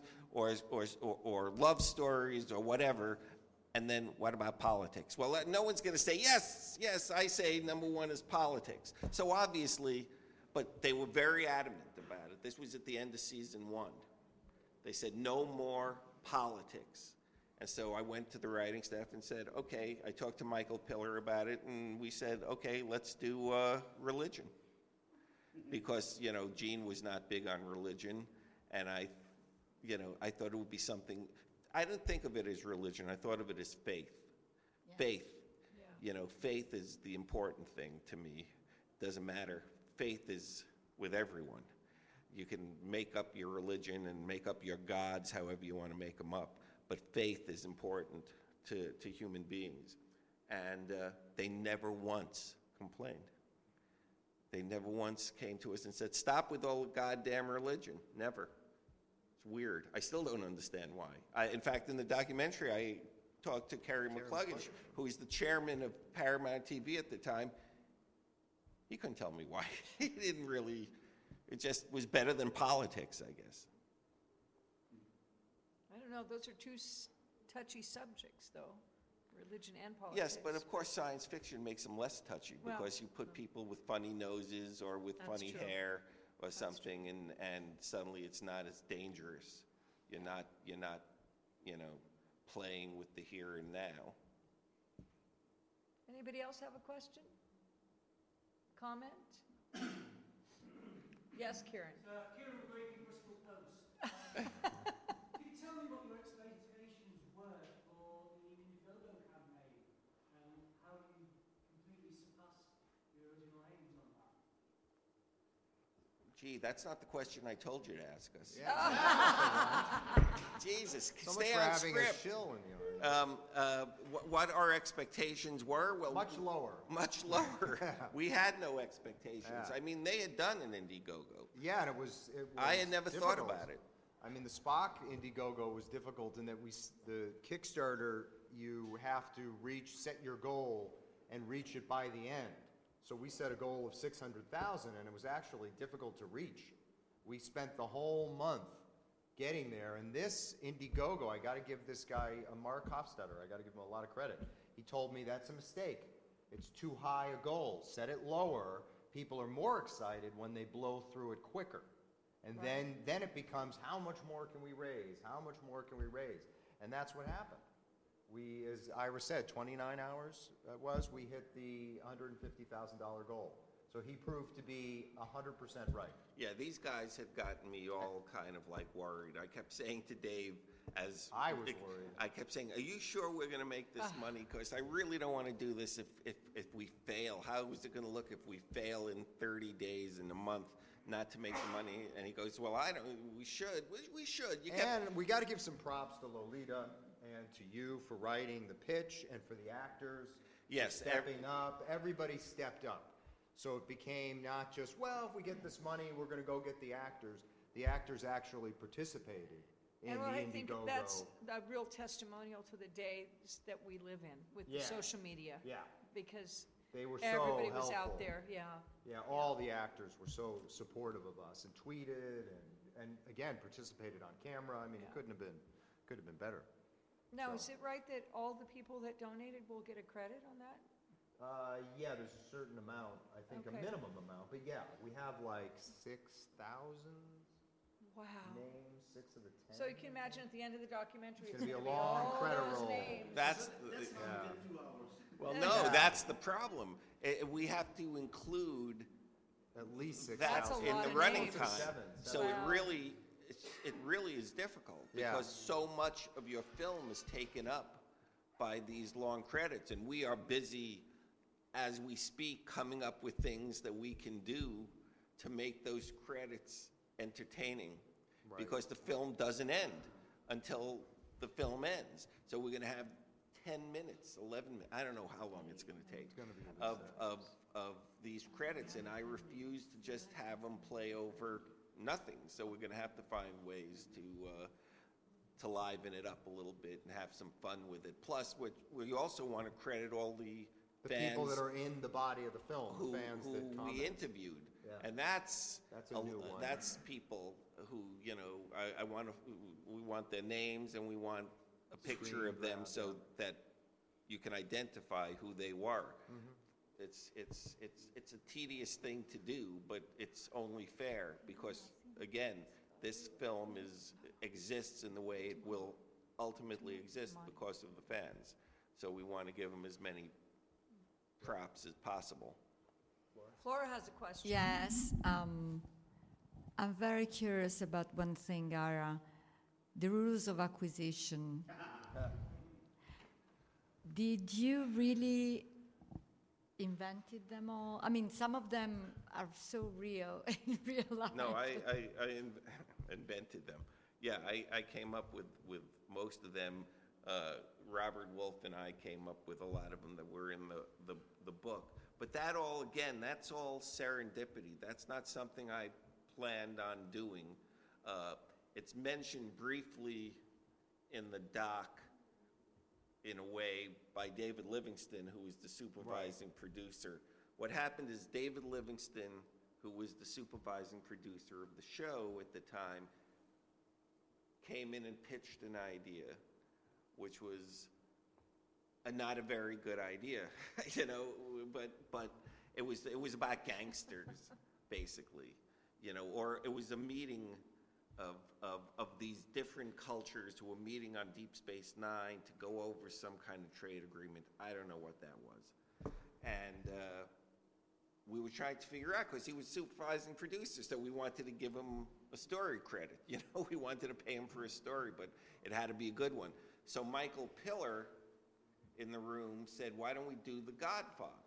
S13: or love stories, or whatever. And then what about politics? Well, no one's going to say, yes, I say number one is politics. So obviously, but they were very adamant about it. This was at the end of season 1. They said, no more politics. And so I went to the writing staff and said, okay, I talked to Michael Piller about it, and we said, okay, let's do religion. Because, Gene was not big on religion, and I thought it would be something. I didn't think of it as religion. I thought of it as faith. Yeah. Faith. Yeah. Faith is the important thing to me. It doesn't matter. Faith is with everyone. You can make up your religion and make up your gods however you want to make them up, but faith is important to human beings. And they never once complained. They never once came to us and said, stop with all the goddamn religion. Never. It's weird. I still don't understand why. In fact, in the documentary, I talked to Kerry McCluggage, who was the chairman of Paramount TV at the time. He couldn't tell me why. He didn't really, it just was better than politics, I guess.
S3: I don't know, those are two touchy subjects, though, religion and politics.
S13: Yes, but of course science fiction makes them less touchy because you put people with funny noses or with funny hair or something, and suddenly it's not as dangerous. You're not, playing with the here and now.
S3: Anybody else have a question? Comment? Yes, Kieran.
S11: Kieran Brady, Bristol Post. Can you tell me what your expectations were for the Indiegogo campaign and how you completely surpassed your original aims on that?
S13: Gee, that's not the question I told you to ask us.
S14: Yeah.
S13: Jesus,
S14: so
S13: stay
S14: much for
S13: on
S14: having
S13: script.
S14: A shill in the audience.
S13: What our expectations were? Well,
S14: much lower.
S13: Much lower. We had no expectations.
S14: Yeah.
S13: I mean, they had done an Indiegogo.
S14: Yeah, and it was
S13: I had never
S14: difficult.
S13: thought about it.
S14: I mean, the Spock Indiegogo was difficult in that the Kickstarter, you have to set your goal and reach it by the end. So we set a goal of 600,000, and it was actually difficult to reach. We spent the whole month getting there, and this Indiegogo, I got to give this guy, Mark Hofstadter, I got to give him a lot of credit. He told me that's a mistake. It's too high a goal. Set it lower. People are more excited when they blow through it quicker. And then it becomes, how much more can we raise? How much more can we raise? And that's what happened. We, as Ira said, 29 hours we hit the $150,000 goal. So he proved to be 100% right.
S13: Yeah, these guys had gotten me all kind of like worried. I kept saying to Dave, as
S14: I was worried.
S13: I kept saying, are you sure we're going to make this money? Because I really don't want to do this if we fail. How is it going to look if we fail in 30 days, in a month, not to make the money? And he goes, well, we should. We should.
S14: And we got to give some props to Lolita and to you for writing the pitch and for the actors.
S13: Yes.
S14: Stepping up. Everybody stepped up. So it became not just, well, if we get this money, we're going to go get the actors. The actors actually participated in the Indiegogo.
S3: I think that's a real testimonial to the days that we live in with the social media.
S14: Yeah.
S3: Because
S14: they were
S3: everybody
S14: so
S3: was
S14: helpful.
S3: out there. Yeah.
S14: Yeah, all the actors were so supportive of us and tweeted and again participated on camera. I mean, it couldn't have been better.
S3: Now, is it right that all the people that donated will get a credit on that?
S14: Yeah, there's a certain amount, I think a
S3: Okay.
S14: minimum amount, but yeah, we have like 6,000
S3: Wow.
S14: names, 6 of the 10.
S3: So you can imagine at the end of the documentary,
S14: It's
S3: it's
S14: gonna
S3: going
S14: be
S3: to
S14: a long
S3: all
S14: credit
S3: those
S14: roll.
S3: names.
S13: That's,
S14: Yeah.
S13: well, no, that's the problem. We have to include
S14: At least 6,000.
S13: that
S3: That's a
S13: in
S3: lot
S13: the
S3: of
S13: running
S3: names.
S13: time.
S14: Seven.
S13: So
S3: Wow.
S13: it really is difficult
S14: Yeah.
S13: because so much of your film is taken up by these long credits, and we are busy as we speak coming up with things that we can do to make those credits entertaining,
S14: Right.
S13: because the film doesn't end until the film ends. So we're going to have 10 minutes, 11 minutes, I don't know how long it's going to take, of these credits, and I refuse to just have them play over nothing. So we're going to have to find ways to liven it up a little bit and have some fun with it. Plus, we also want to credit all the fans
S14: people that are in the body of the film,
S13: who,
S14: the fans that
S13: who
S14: comment.
S13: we interviewed.
S14: Yeah.
S13: And that's
S14: a new one.
S13: That's people who, you know, we want their names and we want a picture
S14: Screen
S13: of them
S14: grab,
S13: so that you can identify who they were.
S14: Mm-hmm.
S13: It's a tedious thing to do, but it's only fair because, again, this film exists in the way it will ultimately exist because of the fans. So we want to give them as many props as possible.
S3: Flora has a question.
S12: Yes, I'm very curious about one thing, Ara, the rules of acquisition. Did you really invented them all? I mean, some of them are so real in real life.
S13: No, I invented them. Yeah, I came up with most of them. Robert Wolf and I came up with a lot of them that were in the book. But that all, again, that's all serendipity. That's not something I planned on doing. It's mentioned briefly in the doc, in a way, by David Livingston, who was the supervising producer. What happened is David Livingston, who was the supervising producer of the show at the time, came in and pitched an idea, which was not a very good idea, you know, but it was about gangsters, basically, you know, or it was a meeting of these different cultures who were meeting on Deep Space Nine to go over some kind of trade agreement. I don't know what that was. And we were trying to figure out, because he was supervising producer, so we wanted to give him a story credit. You know, we wanted to pay him for a story, but it had to be a good one. So Michael Piller in the room said, why don't we do The Godfather?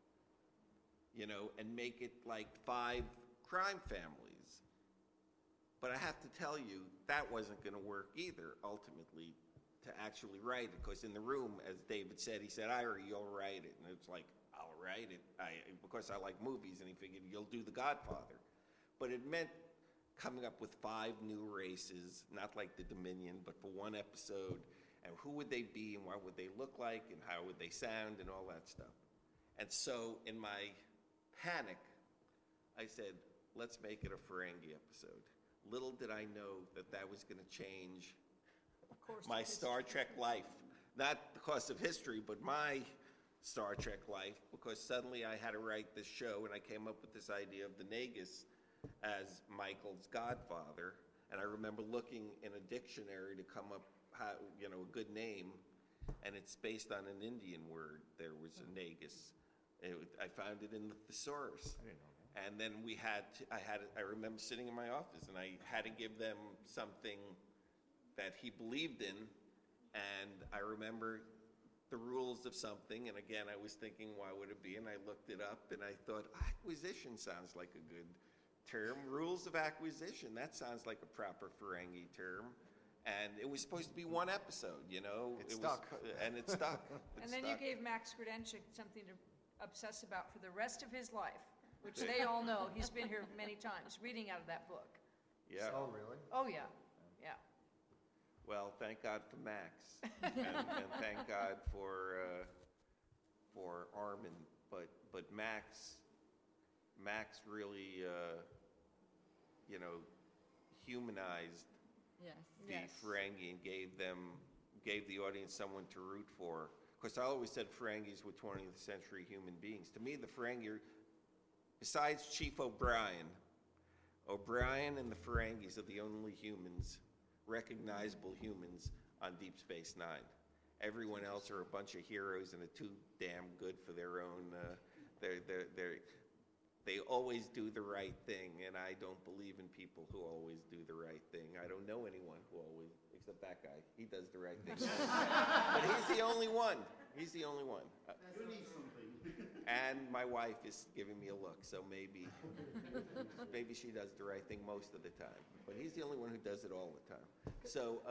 S13: You know, and make it like 5 crime families. But I have to tell you, that wasn't going to work either, ultimately, to actually write it. Because in the room, as David said, he said, Ira, you'll write it. And it's like, I'll write it, because I like movies. And he figured, you'll do The Godfather. But it meant coming up with 5 new races, not like the Dominion, but for one episode. And who would they be, and what would they look like, and how would they sound, and all that stuff. And so, in my panic, I said, let's make it a Ferengi episode. Little did I know that was going to change my Star Trek life. Not because of history, but my Star Trek life, because suddenly I had to write this show, and I came up with this idea of the Nagus as Michael's godfather. And I remember looking in a dictionary to come up, a good name, and it's based on an Indian word. There was a Nagus. I found it in the thesaurus.
S14: I didn't know that.
S13: And then I remember sitting in my office, and I had to give them something that he believed in. And I remember the rules of something, and again, I was thinking, why would it be? And I looked it up, and I thought, acquisition sounds like a good term. Rules of acquisition, that sounds like a proper Ferengi term. And it was supposed to be one episode, you know?
S14: It stuck.
S13: And it stuck.
S3: And then you gave Max Grudenchik something to obsess about for the rest of his life, which they all know. He's been here many times reading out of that book.
S13: Yeah.
S14: Oh, really?
S3: Oh, yeah. Yeah.
S13: Well, thank God for Max, and thank God for Armin. But Max really, humanized
S12: Yes.
S13: the Ferengi and gave the audience someone to root for. Because I always said Ferengis were 20th century human beings. To me, the Ferengi, besides Chief O'Brien and the Ferengis are the only humans, recognizable humans, on Deep Space Nine. Everyone else are a bunch of heroes and are too damn good for their own. They always do the right thing, and I don't believe in people who always do the right thing. I don't know anyone who always, except that guy. He does the right thing. But he's the only one. He's the only one.
S10: You need something.
S13: And my wife is giving me a look, so maybe she does the right thing most of the time. But he's the only one who does it all the time. So,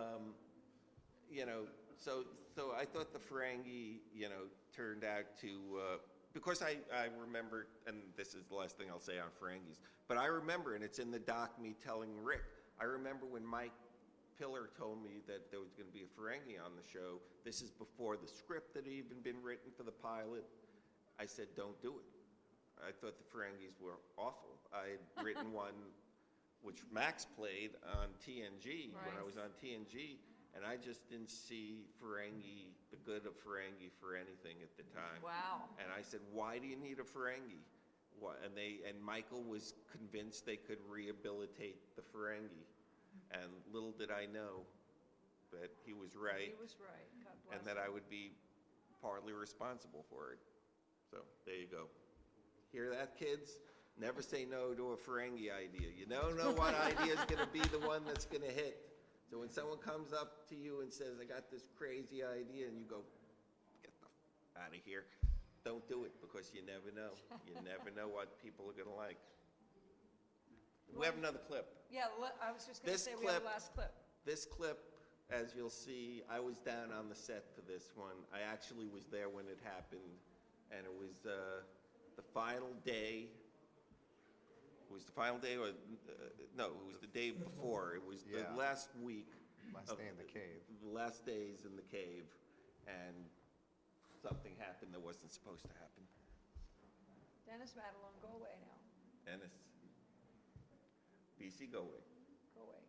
S13: so I thought the Ferengi, turned out to, because I remember, and this is the last thing I'll say on Ferengis, but I remember, and it's in the doc, me telling Rick, I remember when Mike Pillar told me that there was going to be a Ferengi on the show. This is before the script had even been written for the pilot. I said, don't do it. I thought the Ferengis were awful. I had written one which Max played on TNG, when I was on TNG, and I just didn't see Ferengi, the good of Ferengi, for anything at the time.
S3: Wow.
S13: And I said, why do you need a Ferengi? And Michael was convinced they could rehabilitate the Ferengi. And little did I know that he was right.
S3: He was right. God bless
S13: and that I would be partly responsible for it. So there you go. Hear that, kids? Never say no to a Ferengi idea. You don't know what idea is going to be the one that's going to hit. So when someone comes up to you and says, I got this crazy idea, and you go, get the out of here, don't do it, because you never know. You never know what people are going to like. We have another clip.
S3: Yeah, I was just going to say we have the last clip.
S13: This clip, as you'll see, I was down on the set for this one. I actually was there when it happened, and it was the final day. It was the final day, or no, it was the day before. It was the last week.
S14: Last day in the cave.
S13: The last days in the cave, and something happened that wasn't supposed to happen.
S3: Dennis Madelon, go away now.
S13: Dennis. BC, go away.
S3: Go away.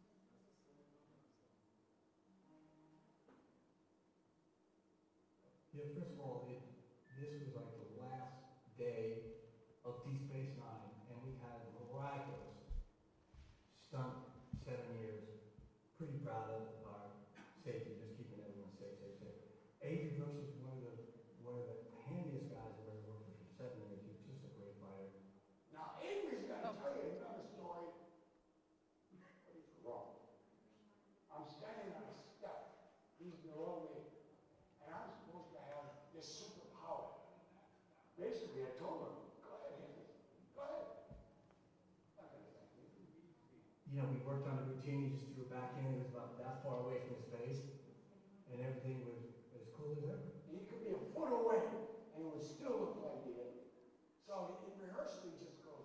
S11: Yeah, first of all, this was like the last day of Deep Space Nine, and we had a miraculous stunt, 7 years. Pretty proud of our safety, just keeping everyone safe. Avery Brooks is one of the handiest guys I've ever worked with for 7 years. He's just a great fighter.
S9: Now, Avery's going to tell you another story. He's wrong. I'm standing on a step. He's below me. And I'm supposed to have this superpower. Basically, I told him, go ahead, Henry. Go ahead. Not going to thank you.
S11: We worked on a routine. He just threw it back in. It was about that far away from his face. And everything was as cool as ever.
S9: He could be a foot away, and it would still look like he did. So in rehearsal, he just goes,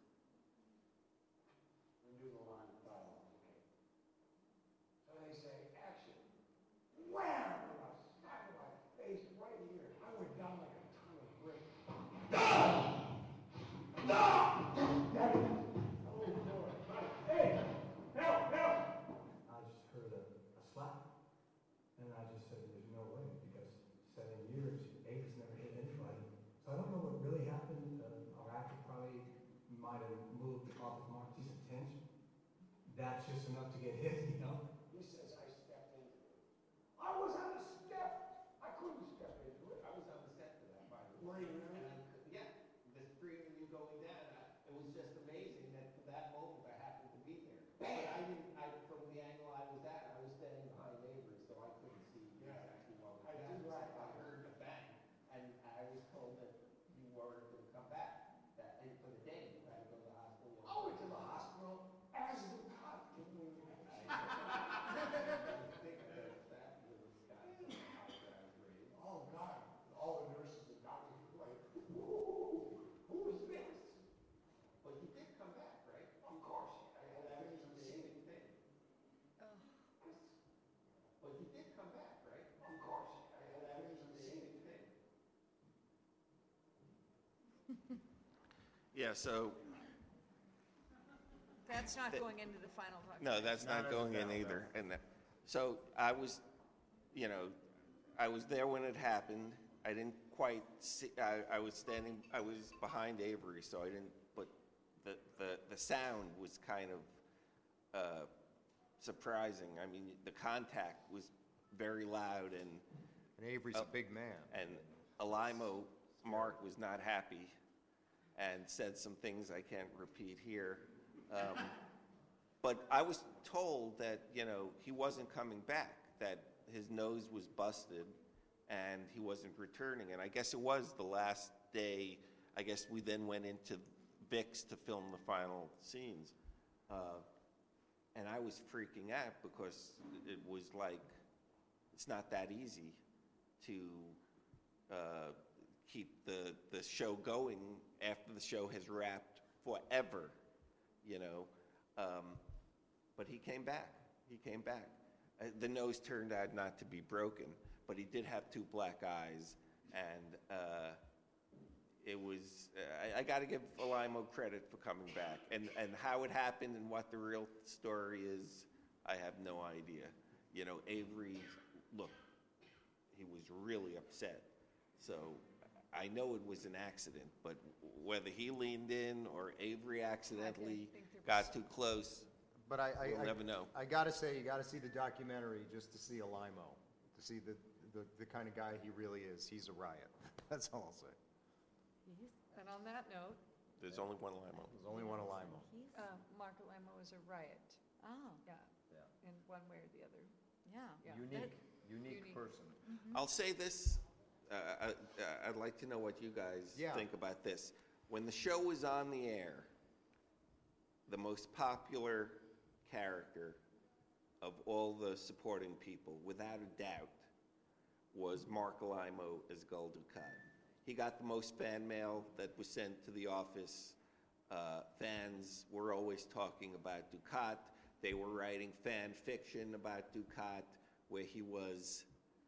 S9: and do the line of dialogue, okay? So they say, action. Wham! And a smack of my face right here. I went down like a ton of brick. Hey! Help!
S11: I just heard a slap, and I just said, there's no way, because 7 years, Avery's never hit anybody. So I don't know what really happened. Our actor probably might have moved off of Mark decent tension. That's just enough to get hit,
S9: He says I stepped into it. I was on the step. I couldn't step into it.
S13: I was on the set for that, by the way.
S9: Were you really?
S13: Yeah, the three of you going down, it was just amazing that for that moment I happened to be there. But from the angle I was at, I was standing behind Avery, so I couldn't see exactly what was happening. I heard a bang, and I was told that you weren't going to come back for the day. You had to go to the hospital.
S9: I went to the hospital as the cop came in. Oh, God. All the nurses and doctors were like, who is this?
S13: But you did come back, right?
S9: Of course.
S13: That was an amazing thing. But you did come back, right?
S9: Of course.
S13: That was an amazing thing. Yeah, so.
S3: That's not going into the final documentary.
S13: No, that's not going in either. And so I was, I was there when it happened. I didn't quite see, I was behind Avery, so I didn't, but the sound was kind of surprising. I mean, the contact was very loud, and
S14: Avery's a big man.
S13: And Alaimo, Mark, was not happy and said some things I can't repeat here. But I was told that, you know, he wasn't coming back, that his nose was busted and he wasn't returning. And I guess it was the last day. I guess we then went into Vic's to film the final scenes. And I was freaking out because it was like, it's not that easy to keep the show going after the show has wrapped forever, you know. But he came back. He came back. The nose turned out not to be broken, but he did have two black eyes, and it was. I got to give Alaimo credit for coming back, and how it happened and what the real story is, I have no idea. You know, Avery, look, he was really upset. So I know it was an accident, but whether he leaned in or Avery accidentally got too close,
S14: but
S13: we'll never know.
S14: I gotta say, you gotta see the documentary just to see Alaimo, to see the kind of guy he really is. He's a riot. That's all I'll say.
S3: And on that note,
S13: there's only one Alaimo.
S14: There's only one Alaimo.
S3: Mark Alaimo is a riot.
S12: Oh.
S3: Yeah. In one way or the other.
S12: Yeah.
S14: Unique person.
S12: Mm-hmm.
S13: I'll say this. I'd like to know what you guys think about this. When the show was on the air, the most popular character of all the supporting people, without a doubt, was Mark Alaimo as Gul Dukat. He got the most fan mail that was sent to the office. Fans were always talking about Dukat. They were writing fan fiction about Dukat, where he was,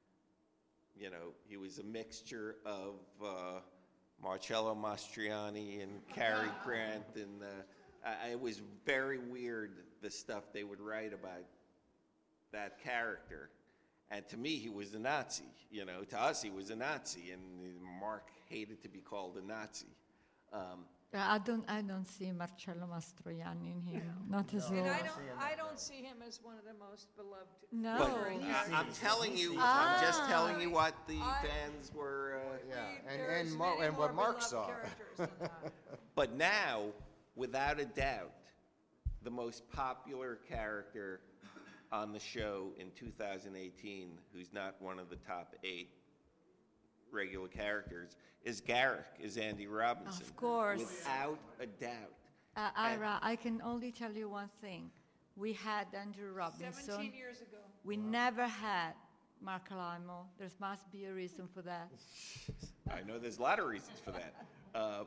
S13: you know, he was a mixture of Marcello Mastroianni and Cary Grant, and it was very weird, the stuff they would write about that character. And to me, he was a Nazi. You know, to us, he was a Nazi, and Mark hated to be called a Nazi.
S12: I don't see Marcello Mastroianni in him. Not as
S3: And
S12: well.
S3: I don't see him as one of the most beloved.
S12: No.
S13: But I'm telling you, I'm just telling you what the fans were.
S14: And what Mark saw.
S13: But now, without a doubt, the most popular character on the show in 2018, who's not one of the top 8 regular characters, is Garrick, is Andy Robinson.
S12: Of course.
S13: Without a doubt.
S12: Ira, I can only tell you one thing. We had Andrew Robinson.
S3: 17 years ago.
S12: We never had Mark Alaimo. There must be a reason for that.
S13: I know there's a lot of reasons for that.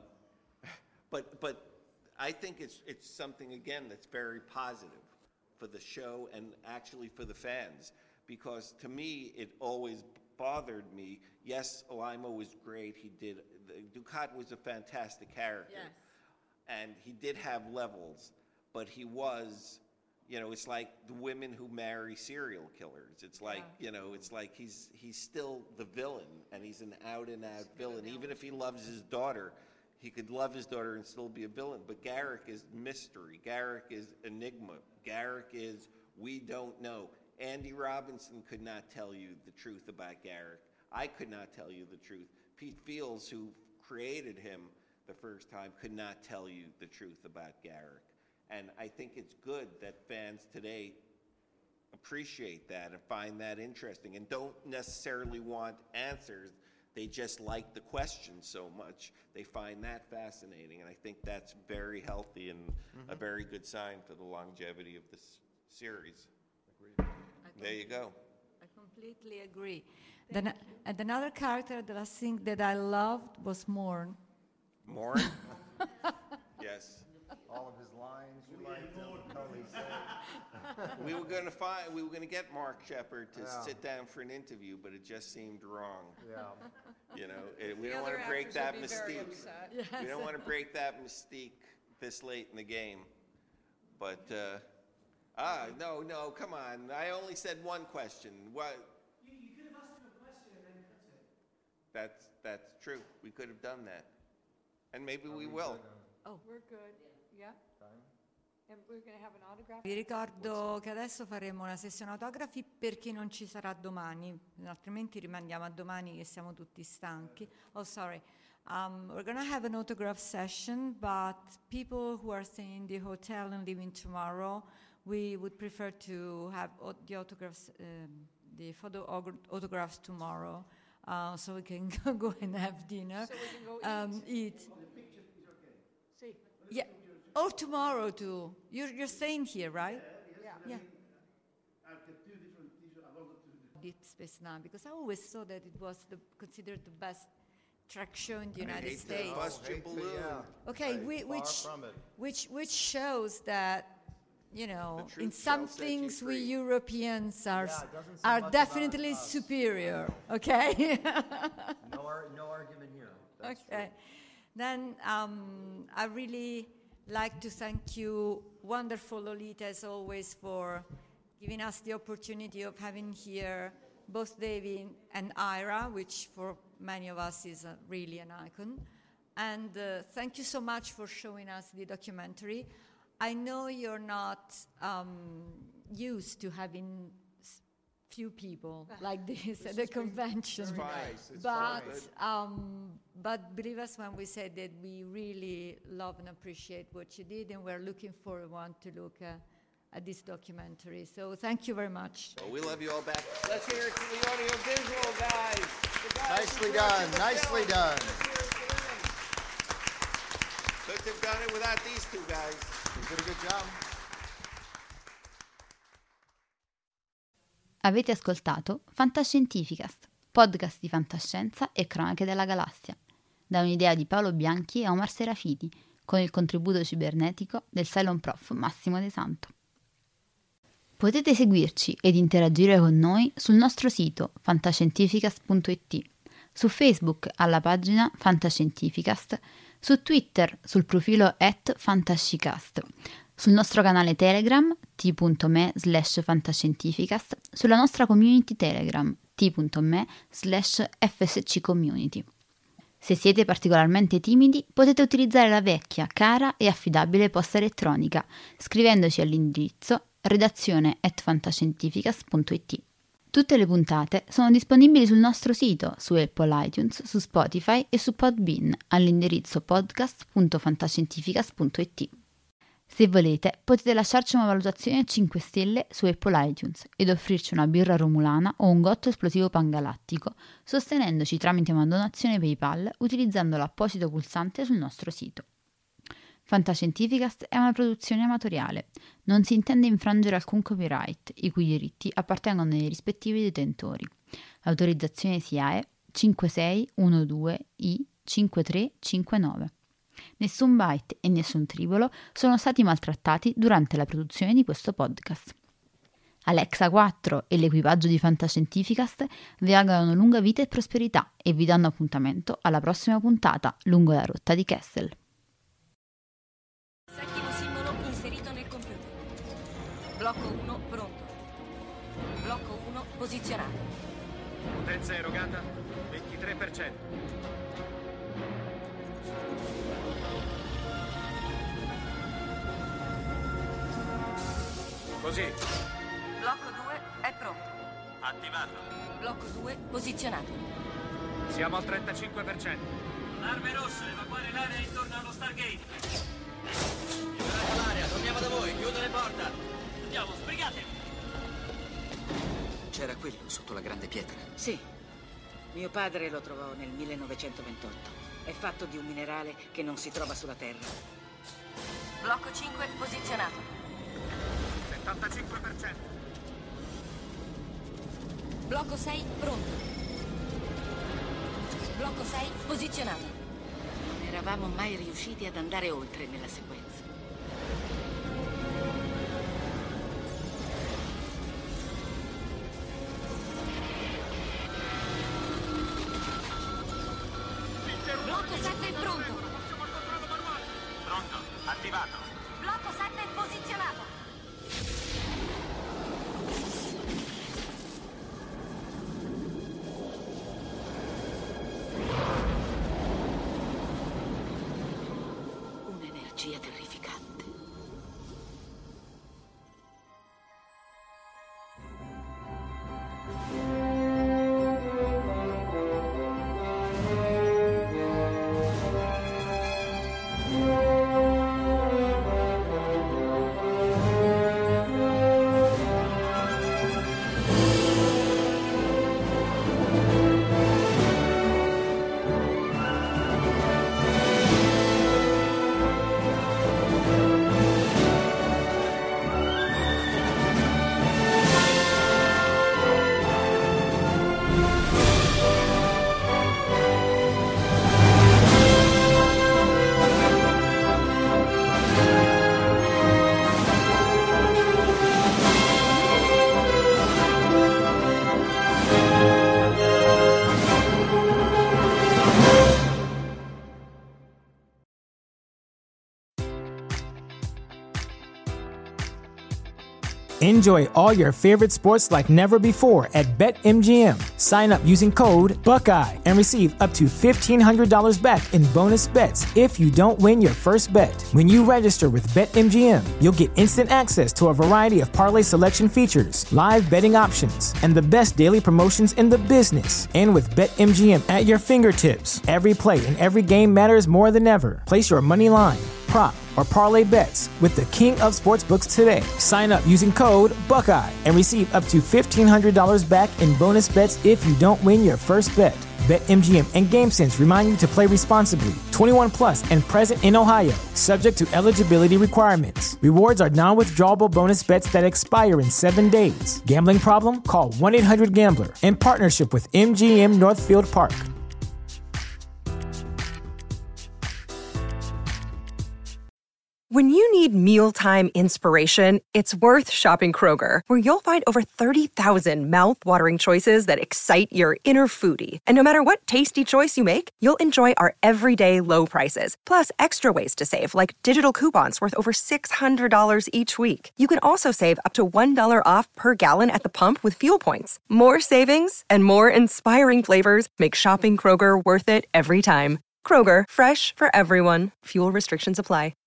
S13: But I think it's something, again, that's very positive for the show and actually for the fans. Because to me, it always bothered me. Yes, Alaimo was great. Dukat was a fantastic character.
S12: Yes.
S13: And he did have levels, but he was, you know, it's like the women who marry serial killers. It's like, you know, it's like he's still the villain, and he's an out-and-out villain. Even if he loves his daughter, he could love his daughter and still be a villain. But Garrick is mystery. Garrick is enigma. Garrick is we don't know. Andy Robinson could not tell you the truth about Garrick. I could not tell you the truth. Pete Fields, who created him the first time, could not tell you the truth about Garrick. And I think it's good that fans today appreciate that and find that interesting and don't necessarily want answers. They just like the question so much. They find that fascinating. And I think that's very healthy and a very good sign for the longevity of this series. There you go.
S12: I completely agree. And another character that I think that I loved was Morn.
S13: Morn? Yes.
S14: All of his lines, you liked them, how he said.
S13: We were going to get Mark Shepard to sit down for an interview, but it just seemed wrong.
S14: Yeah.
S13: You know, we don't want to break that mystique. We don't want to break that mystique this late in the game. But no, come on. I only said one question. What?
S11: You could have asked him a question
S13: That's true. We could have done that. And maybe we will.
S3: Oh, we're good. Yeah. And we're going to have an autograph.
S12: Vi ricordo che adesso faremo una sessione autografi per chi non ci sarà domani, altrimenti rimandiamo a domani che siamo tutti stanchi. Oh, sorry. We're going to have an autograph session, but people who are staying in the hotel and leaving tomorrow, we would prefer to have the autographs, the photo autographs tomorrow, so we can go and have dinner,
S3: So we can go
S12: eat.
S3: See.
S12: Yeah, or tomorrow too. You're staying here, right? Yeah. Deep Space Nine, because I always saw that it was considered the best track show in the United States.
S13: Bust your balloon.
S12: Okay, which shows that, you know, in some things we Europeans are definitely superior. Okay.
S15: No argument here. That's
S12: okay. Then I really like to thank you, wonderful Lolita, as always, for giving us the opportunity of having here both David and Ira, which for many of us is really an icon. And thank you so much for showing us the documentary. I know you're not used to having few people like this at the convention, but believe us when we say that we really love and appreciate what you did, and we're looking forward to look at this documentary. So thank you very much.
S13: Well, we love you all back. Let's hear it to the audiovisual guys.
S14: Nicely done, nicely done.
S13: Couldn't have done it without these two guys.
S14: You did a good job.
S16: Avete ascoltato Fantascientificast, podcast di fantascienza e cronache della galassia, da un'idea di Paolo Bianchi e Omar Serafiti, con il contributo cibernetico del Cylon Prof Massimo De Santo. Potete seguirci ed interagire con noi sul nostro sito fantascientificast.it, su Facebook alla pagina Fantascientificast, su Twitter sul profilo @fantascicast, sul nostro canale Telegram t.me/fantascientificast, sulla nostra community Telegram t.me/fsccommunity. Se siete particolarmente timidi, potete utilizzare la vecchia, cara e affidabile posta elettronica, scrivendoci all'indirizzo redazione@fantascientificast.it. Tutte le puntate sono disponibili sul nostro sito, su Apple iTunes, su Spotify e su Podbean, all'indirizzo podcast.fantascientificast.it. Se volete, potete lasciarci una valutazione a 5 stelle su Apple iTunes ed offrirci una birra romulana o un gotto esplosivo pangalattico, sostenendoci tramite una donazione PayPal utilizzando l'apposito pulsante sul nostro sito. Fantascientificast è una produzione amatoriale. Non si intende infrangere alcun copyright, i cui diritti appartengono ai rispettivi detentori. Autorizzazione SIAE 5612I5359. Nessun byte e nessun tribolo sono stati maltrattati durante la produzione di questo podcast. Alexa 4 e l'equipaggio di Fantascientificast vi augurano lunga vita e prosperità e vi danno appuntamento alla prossima puntata lungo la rotta di Kessel.
S17: Settimo simbolo inserito nel computer. Blocco 1 pronto. Blocco 1 posizionato.
S18: Potenza erogata 23%. Così.
S17: Blocco 2 è pronto.
S18: Attivato.
S17: Blocco 2 posizionato.
S18: Siamo al 35%. Arme rosse, evacuare l'area intorno allo Stargate.
S19: Liberate l'area, torniamo da voi, chiudere porta.
S18: Andiamo, sbrigatevi.
S19: C'era quello sotto la grande pietra.
S20: Sì. Mio padre lo trovò nel 1928. È fatto di un minerale che non si trova sulla Terra.
S17: Blocco 5 posizionato.
S18: 75%.
S17: Blocco 6 pronto. Blocco 6 posizionato.
S20: Non eravamo mai riusciti ad andare oltre nella sequenza.
S17: Blocco 7 pronto.
S18: Pronto, attivato.
S17: Blocco 7 posizionato.
S20: bugia terrificante.
S1: Enjoy all your favorite sports like never before at BetMGM. Sign up using code Buckeye and receive up to $1,500 back in bonus bets if you don't win your first bet. When you register with BetMGM, you'll get instant access to a variety of parlay selection features, live betting options, and the best daily promotions in the business. And with BetMGM at your fingertips, every play and every game matters more than ever. Place your money line, prop, or parlay bets with the king of sportsbooks today. Sign up using code Buckeye and receive up to $1,500 back in bonus bets if you don't win your first bet. BetMGM and GameSense remind you to play responsibly. 21 plus and present in Ohio, subject to eligibility requirements. Rewards are non-withdrawable bonus bets that expire in 7 days. Gambling problem? Call 1-800-GAMBLER. In partnership with MGM Northfield Park.
S21: When you need mealtime inspiration, it's worth shopping Kroger, where you'll find over 30,000 mouth-watering choices that excite your inner foodie. And no matter what tasty choice you make, you'll enjoy our everyday low prices, plus extra ways to save, like digital coupons worth over $600 each week. You can also save up to $1 off per gallon at the pump with fuel points. More savings and more inspiring flavors make shopping Kroger worth it every time. Kroger, fresh for everyone. Fuel restrictions apply.